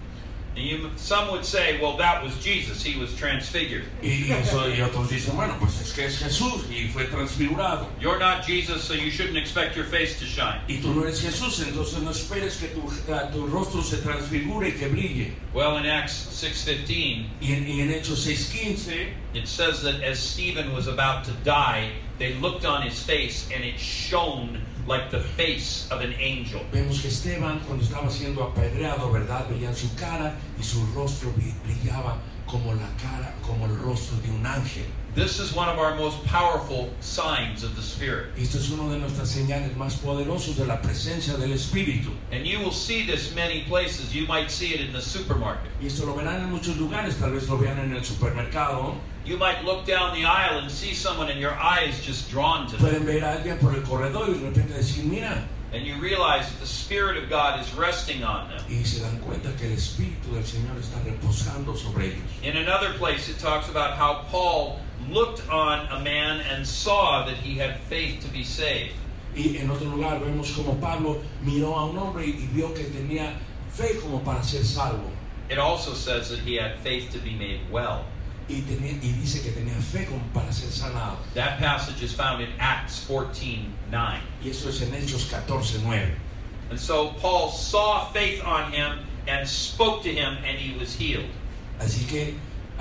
Some would say, well, that was Jesus. He was transfigured. Y otros dicen, bueno, pues es que es Jesús y fue transfigurado. You're not Jesus, so you shouldn't expect your face to shine. Y tú no eres Jesús, entonces no esperes que tu rostro se transfigure y que brille. Well, in Acts 6:15, y en Hechos 6:15, it says that as Stephen was about to die, they looked on his face and it shone like the face of an angel. Vemos que Esteban, cuando estaba siendo apedreado, ¿verdad? Veían su cara y su rostro brillaba como el rostro de un ángel. This is one of our most powerful signs of the Spirit. Esto es una de nuestras señales más poderosas de la presencia del Espíritu. And you will see this many places. You might see it in the supermarket. Y esto lo verán en muchos lugares, tal vez lo vean en el supermercado. You might look down the aisle and see someone and your eye is just drawn to them. Pueden ver a alguien por el corredor y de repente decir, mira. And you realize that the Spirit of God is resting on them. Y se dan cuenta que el Espíritu del Señor está reposando sobre ellos. In another place it talks about how Paul looked on a man and saw that he had faith to be saved. Y en otro lugar vemos como Pablo miró a un hombre y vio que tenía fe como para ser salvo. It also says that he had faith to be made well. Y dice que tenía fe como para ser sanado. That passage is found in Acts 14:9. Y eso es en Hechos 14:9. And so Paul saw faith on him and spoke to him and he was healed. Así que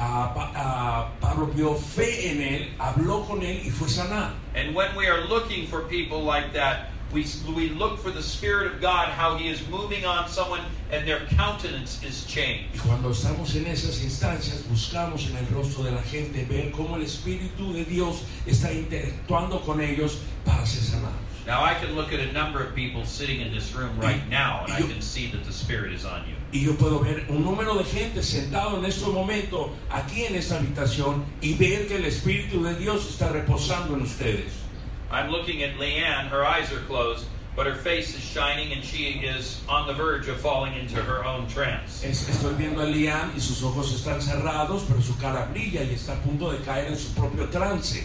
Pablo vio fe en él, habló con él y fue sanado. And when we are looking for people like that, we look for the Spirit of God, how He is moving on someone and their countenance is changed. Y cuando estamos en esas instancias, buscamos en el rostro de la gente ver cómo el Espíritu de Dios está interactuando con ellos para ser sanados. Now I can look at a number of people sitting in this room right now and I can see that the Spirit is on you. Y yo puedo ver un número de gente sentado en este momento aquí en esta habitación y ver que el Espíritu de Dios está reposando en ustedes. I'm looking at Leanne, her eyes are closed, but her face is shining and she is on the verge of falling into her own trance. Estoy viendo a Leanne y sus ojos están cerrados, pero su cara brilla y está a punto de caer en su propio trance.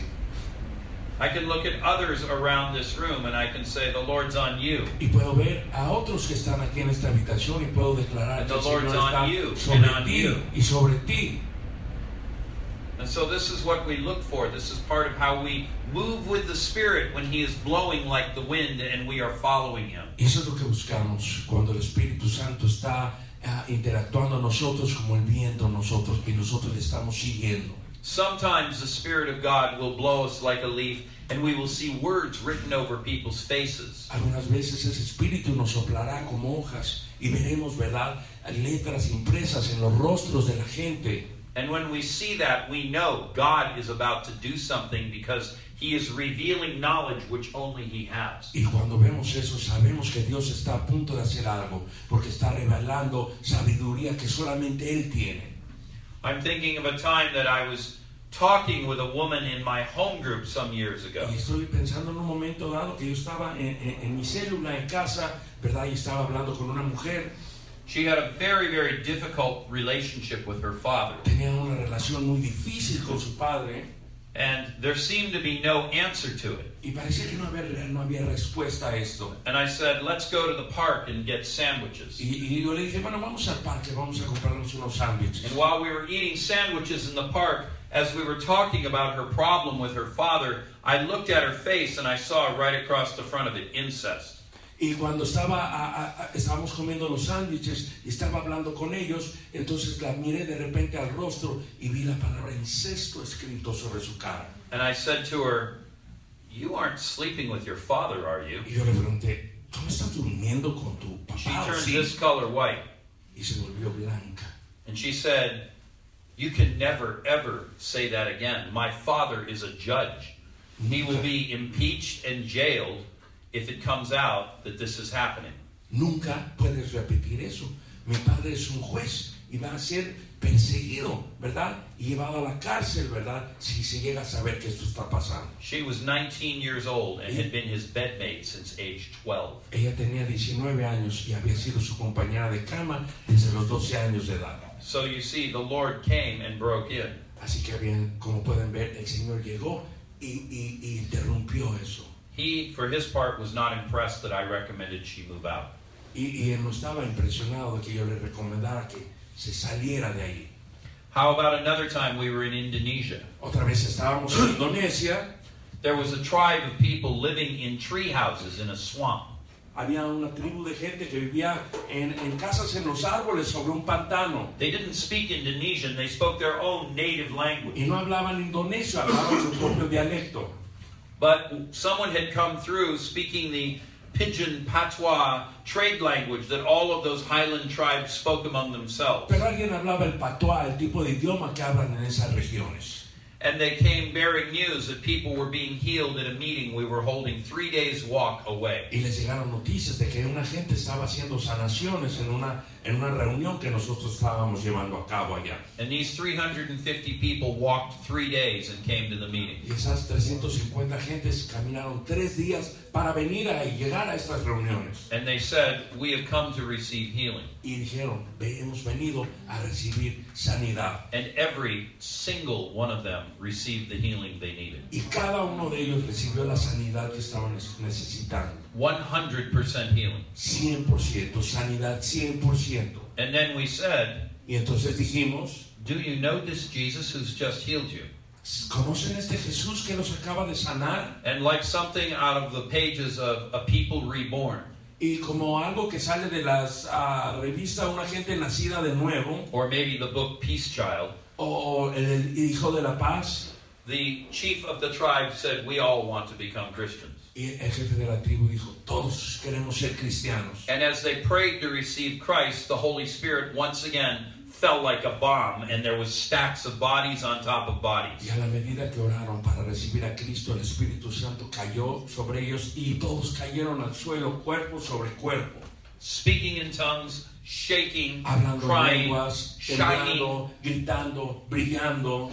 I can look at others around this room and I can say, the Lord's on you. Y puedo ver a otros que están aquí en esta habitación y puedo declarar que el Señor está sobre ti y sobre ti. And so this is what we look for. This is part of how we move with the Spirit when He is blowing like the wind and we are following Him. Y eso es lo que buscamos cuando el Espíritu Santo está interactuando a nosotros como el viento a nosotros y nosotros le estamos siguiendo. Sometimes the Spirit of God will blow us like a leaf and we will see words written over people's faces. Algunas veces ese Espíritu nos soplará como hojas y veremos, ¿verdad?, letras impresas en los rostros de la gente. And when we see that, we know God is about to do something because He is revealing knowledge which only He has. Y cuando vemos eso, sabemos que Dios está a punto de hacer algo, porque está revelando sabiduría que solamente Él tiene. I'm thinking of a time that I was talking with a woman in my home group some years ago. Y estoy pensando en un momento dado que yo estaba en mi célula en casa, ¿verdad? Y estaba hablando con una mujer. She had a very, very difficult relationship with her father. Tenía una relación muy difícil con su padre. And there seemed to be no answer to it. Y parecía que no había respuesta a esto. And I said, let's go to the park and get sandwiches. Y yo le dije, bueno, vamos al parque, vamos a comprarnos unos sándwiches. And while we were eating sandwiches in the park, as we were talking about her problem with her father, I looked at her face and I saw right across the front of it, incest. Y cuando estábamos comiendo los sándwiches y estaba hablando con ellos, entonces la miré de repente al rostro y vi la palabra incesto escrito sobre su cara. And I said to her, you aren't sleeping with your father, are you? Y yo le pregunté, ¿tú no estás durmiendo con tu She papá? turned ¿Sí? this color white. Y se volvió blanca. And she said, you can never, ever say that again. My father is a judge. He will be impeached and jailed if it comes out that this is happening. Nunca puedes repetir eso. Mi padre es un juez y va a ser perseguido, ¿verdad? Y llevado a la cárcel, ¿verdad? Si se llega a saber que esto está pasando. She was 19 years old and had been his bedmate since age 12. Ella tenía 19 años y había sido su compañera de cama desde los 12 años de edad. So you see, the Lord came and broke in. Así que bien, como pueden ver, el Señor llegó y interrumpió eso. He, for his part, was not impressed that I recommended she move out. Y él no estaba impresionado de que yo le recomendara que se saliera de ahí. How about another time we were in Indonesia? Otra vez estábamos en Indonesia. There was a tribe of people living in tree houses in a swamp. Había una tribu de gente que vivía en casas en los árboles sobre un pantano. They didn't speak Indonesian, they spoke their own native language. Y no hablaban indonesio, hablaban su propio dialecto. But someone had come through speaking the Pidgin Patois trade language that all of those highland tribes spoke among themselves. Pero alguien hablaba el patois, el tipo de idioma que hablan en esas regiones. And they came bearing news that people were being healed at a meeting we were holding 3 days walk away. Y les llegaron noticias de que una gente estaba haciendo sanaciones en una reunión que nosotros estábamos llevando a cabo allá. And these 350 people walked 3 days and came to the meeting. Y esas 350 gentes caminaron 3 días para venir a llegar a estas reuniones. And they said, we have come to receive healing. Y dijeron, hemos venido a recibir sanidad. And every single one of them received the healing they needed. Y cada uno de ellos recibió la sanidad que estaban necesitando. 100% healing. 100%, sanidad 100%. And then we said, Y entonces dijimos, do you know this Jesus who's just healed you? ¿conocen este Jesús que los acaba de sanar? And like something out of the pages of A People Reborn, Y como algo que sale de las revistas Una Gente Nacida de Nuevo, or maybe the book Peace Child, o el Hijo de la Paz, the chief of the tribe said, we all want to become Christians. y el jefe de la tribu dijo, todos queremos ser cristianos. And as they prayed to receive Christ, the Holy Spirit once again fell like a bomb, and there was stacks of bodies on top of bodies. Y a la medida que oraron para recibir a Cristo, el Espíritu Santo cayó sobre ellos y todos cayeron al suelo, cuerpo sobre cuerpo. Speaking in tongues, shaking, Hablando en crying, lenguas, shining, temblando, gritando, brillando,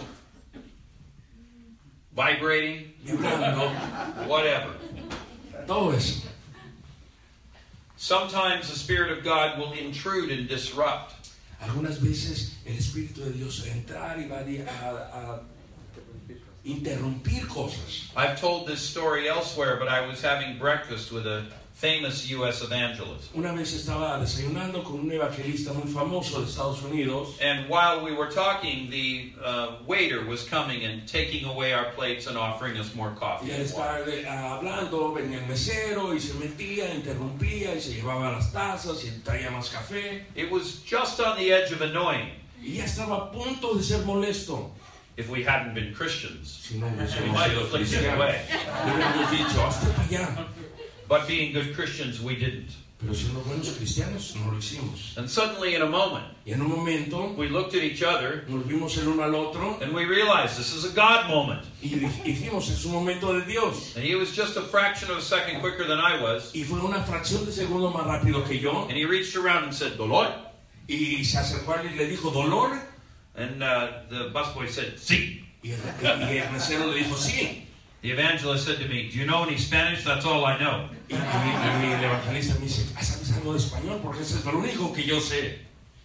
vibrating, vibrando, whatever. todo eso. Sometimes the Spirit of God will intrude and disrupt. Algunas veces el Espíritu de Dios va a entrar y va a interrumpir cosas. I've told this story elsewhere, but I was having breakfast with a famous U.S. evangelist. Una vez estaba desayunando con un evangelista muy famoso de Estados Unidos. And while we were talking, the waiter was coming and taking away our plates and offering us more coffee. Y al and water. estar hablando, venía el mesero y se metía, interrumpía y se llevaba las tazas y traía más café. It was just on the edge of annoying. Y ya estaba a punto de ser molesto. If we hadn't been Christians, Si no we hubiésemos might sido have flicked it cristianos, away. le hubiéramos dicho, hazte para allá. But being good Christians, we didn't. Pero siendo buenos cristianos no lo hicimos. And suddenly, in a moment, Y en un momento we looked at each other nos vimos el uno al otro and we realized this is a God moment. y dijimos, es un momento de Dios. And he was just a fraction of a second quicker than I was. Y fue una fracción de segundo más rápido que yo. And he reached around and said, "Dolor?" Y se acercó a él y le dijo, ¿dolor? And the busboy said, "Sí." Y el mesero le dijo, sí. The evangelist said to me, "Do you know any Spanish? That's all I know." Y el evangelista me dice, ¿sabes algo de español? Porque eso es lo único que yo sé.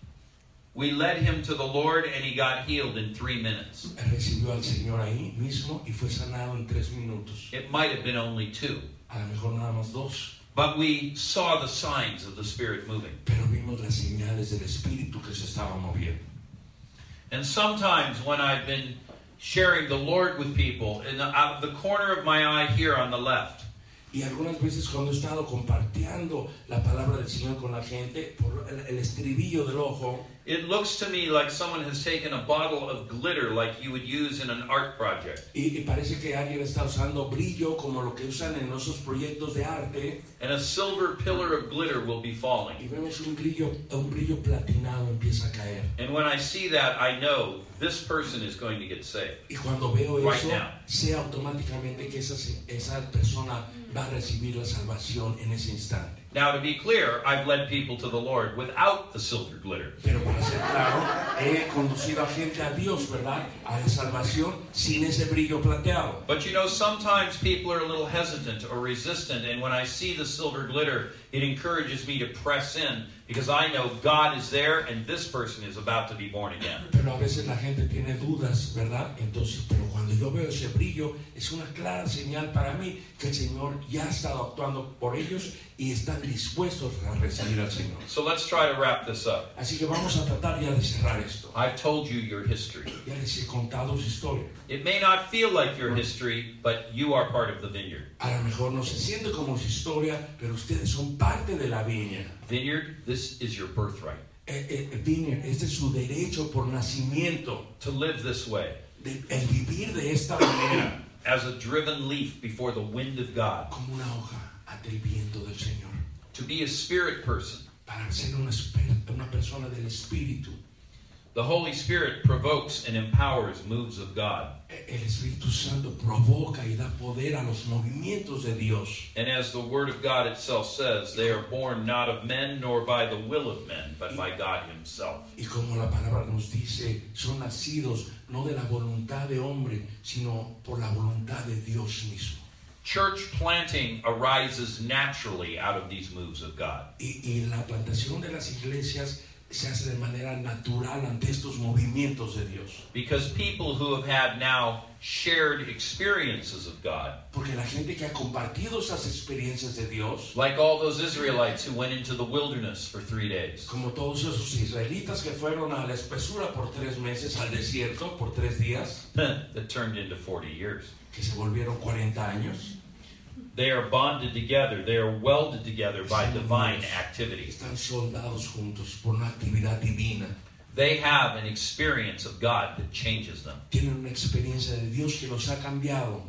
We led him to the Lord and he got healed in 3 minutes. Él recibió al Señor ahí mismo y fue sanado en 3 minutos. It might have been only 2. A lo mejor nada más 2. But we saw the signs of the Spirit moving. Pero vimos las señales del Espíritu que se estaba moviendo. And sometimes when I've been sharing the Lord with people, out of the corner of my eye here on the left, Y algunas veces cuando he estado compartiendo la palabra del Señor con la gente, por el estribillo del ojo, it looks to me like someone has taken a bottle of glitter like you would use in an art project. y parece que alguien está usando brillo como lo que usan en esos proyectos de arte, And a silver pillar of glitter will be y falling. vemos un brillo platinado empieza a caer. And when I see that, I know this person is going to get saved. Y cuando veo Right eso, now. sé automáticamente que esa persona va a recibir la salvación en ese instante. Now, to be clear, I've led people to the Lord without the silver glitter. Pero para ser claro, he conducido a gente a Dios, ¿verdad? A la salvación sin ese brillo plateado. But you know, sometimes people are a little hesitant or resistant, and when I see the silver glitter, it encourages me to press in because I know God is there and this person is about to be born again. Pero a veces la gente tiene dudas, ¿verdad? Entonces, pero cuando yo veo ese brillo, es una clara señal para mí que el Señor ya ha estado actuando por ellos y están dispuestos a recibir al Señor. So let's try to wrap this up. Así que vamos a tratar ya de cerrar esto. I've told you your history. Ya les he contado su historia. It may not feel like your history, but you are part of the vineyard. A lo mejor no se siente como su historia, pero ustedes son parte de la viña. Vineyard, this is your birthright. Viña, este es su derecho por nacimiento, To live this way, el vivir de esta manera, as a driven leaf before the wind of God. como una hoja ante el viento del Señor. To be a spirit person. Para ser una persona del Espíritu. The Holy Spirit provokes and empowers moves of God. El Espíritu Santo provoca y da poder a los movimientos de Dios. And as the Word of God itself says, they are born not of men nor by the will of men, but by God Himself. Y como la palabra nos dice, son nacidos no de la voluntad de hombre, sino por la voluntad de Dios mismo. Church planting arises naturally out of these moves of God. Y la plantación de las iglesias se hace de manera natural ante estos movimientos de Dios. Because people who have had now shared experiences of God, Porque la gente que ha compartido esas experiencias de Dios, like all those Israelites who went into the wilderness for 3 days, como todos esos israelitas que fueron a la espesura por 3 meses, al desierto por 3 días, that turned into 40 years. que se volvieron 40 años, They are bonded together. They are welded together by divine activity. están soldados juntos por una actividad divina. They have an experience of God that changes them. Tienen una experiencia de Dios que los ha cambiado.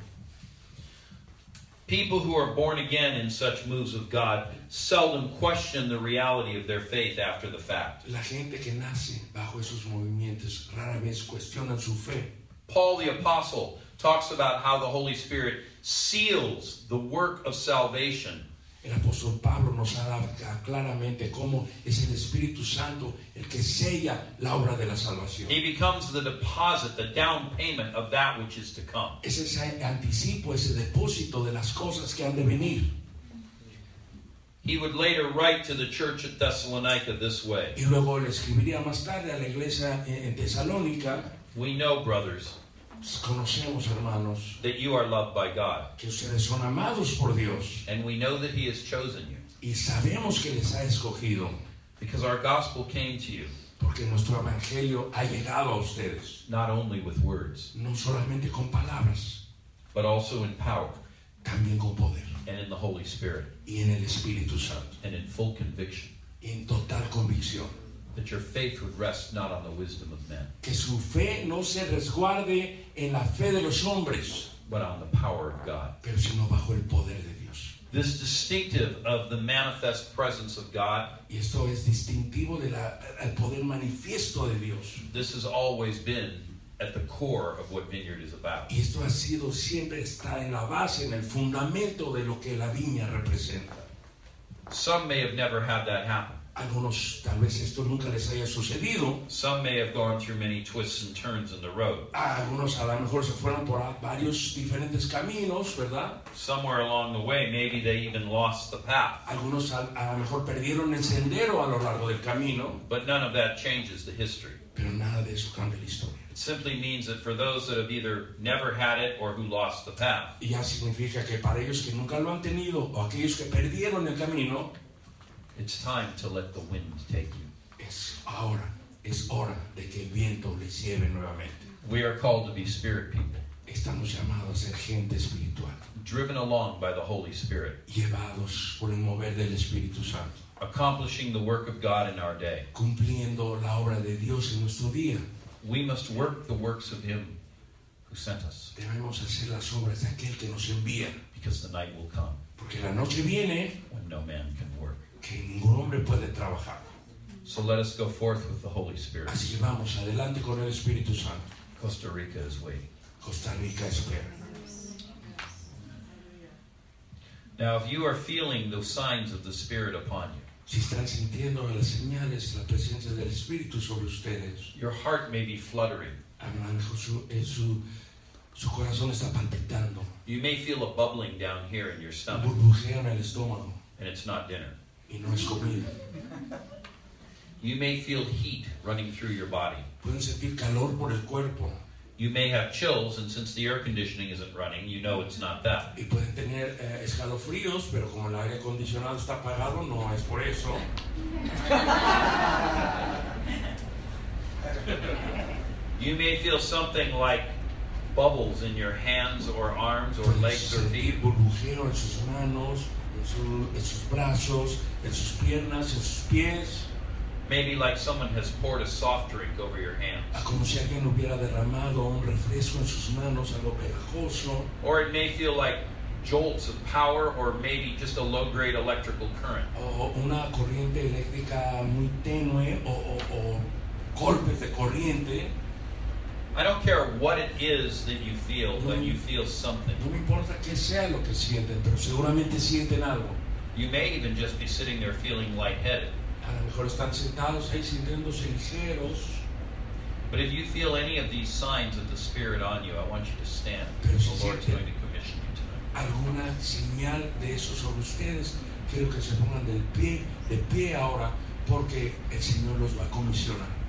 People who are born again in such moves of God seldom question the reality of their faith after the fact. La gente que nace bajo esos movimientos rara vez cuestionan su fe. Paul the Apostle talks about how the Holy Spirit seals the work of salvation. El apóstol Pablo nos habla claramente cómo es el Espíritu Santo el que sella la obra de la salvación. He becomes the deposit, the down payment of that which is to come. Es ese anticipo, ese depósito de las cosas que han de venir. He would later write to the church at Thessalonica this way. Y luego le escribiría más tarde a la iglesia en Tesalónica. We know, brothers, Conocemos, hermanos, that you are loved by God. que ustedes son amados por Dios. And we know that He has chosen you. Y sabemos que les ha escogido. Because our gospel came to you, Porque nuestro evangelio ha llegado a ustedes. not only with words, No solamente con palabras, but also in power, también con poder. and in the Holy Spirit, Y en el Espíritu Santo. and in full conviction, Y en total convicción. that your faith would rest not on the wisdom of men, Que su fe no se resguarde en la fe de los hombres, but on the power of God. pero sino bajo el poder de Dios. This distinctive of the manifest presence of God, Y esto es distintivo del poder manifiesto de Dios. this has always been at the core of what Vineyard is about. Y esto ha sido, siempre está en la base, en el fundamento de lo que la viña representa. Some may have never had that happen. Algunos tal vez esto nunca les haya sucedido. Some may have gone through many twists and turns in the road. Algunos a lo mejor se fueron por varios diferentes caminos, ¿verdad? Somewhere along the way, maybe they even lost the path. Algunos a lo mejor perdieron el sendero a lo largo del camino, But none of that changes the history. pero nada de eso cambia la historia. It simply means that for those that have either never had it or who lost the path, Y ya significa que para ellos que nunca lo han tenido o aquellos que perdieron el camino, it's time to let the wind take you. es hora de que el viento les lleve nuevamente. We are called to be spirit people, Estamos llamados a ser gente espiritual, driven along by the Holy Spirit, llevados por el mover del Espíritu Santo, accomplishing the work of God in our day. cumpliendo la obra de Dios en nuestro día. We must work the works of Him who sent us, Debemos hacer las obras de aquel que nos envía, because the night will come porque la noche viene when no man can work. que ningún hombre puede trabajar. So let us go forth with the Holy Spirit. Así que vamos adelante con el Espíritu Santo. Costa Rica is waiting. Costa Rica espera. Now, if you are feeling the signs of the Spirit upon you, Si están sintiendo las señales, la presencia del Espíritu sobre ustedes, your heart may be fluttering. a lo mejor su corazón está palpitando, You may feel a bubbling down here in your stomach, burbujea en el estómago and it's not dinner. y no es comida. You may feel heat running through your body. Pueden sentir calor por el cuerpo You may have chills, and since the air conditioning isn't running, you know it's not that. y pueden tener escalofríos, pero como el aire acondicionado está apagado, no es por eso. You may feel something like bubbles in your hands or arms or Pueden legs or feet. sentir burbujeo en sus manos, en sus brazos, en sus piernas, en sus pies. Maybe like someone has poured a soft drink over your hands. Como si alguien hubiera derramado un refresco en sus manos, algo pegajoso. Or it may feel like jolts of power or maybe just a low-grade electrical current. O una corriente eléctrica muy tenue, o golpes de corriente. I don't care what it is that you feel, but you feel something. No me importa qué sea lo que sienten, pero seguramente sienten algo. You may even just be sitting there feeling lightheaded. A lo mejor están sentados ahí sintiéndose ligeros. But if you feel any of these signs of the Spirit on you, I want you to stand. Pero si The Lord's sienten going to commission you tonight. alguna señal de eso sobre ustedes, quiero que se pongan de pie ahora, porque el Señor los va a comisionar.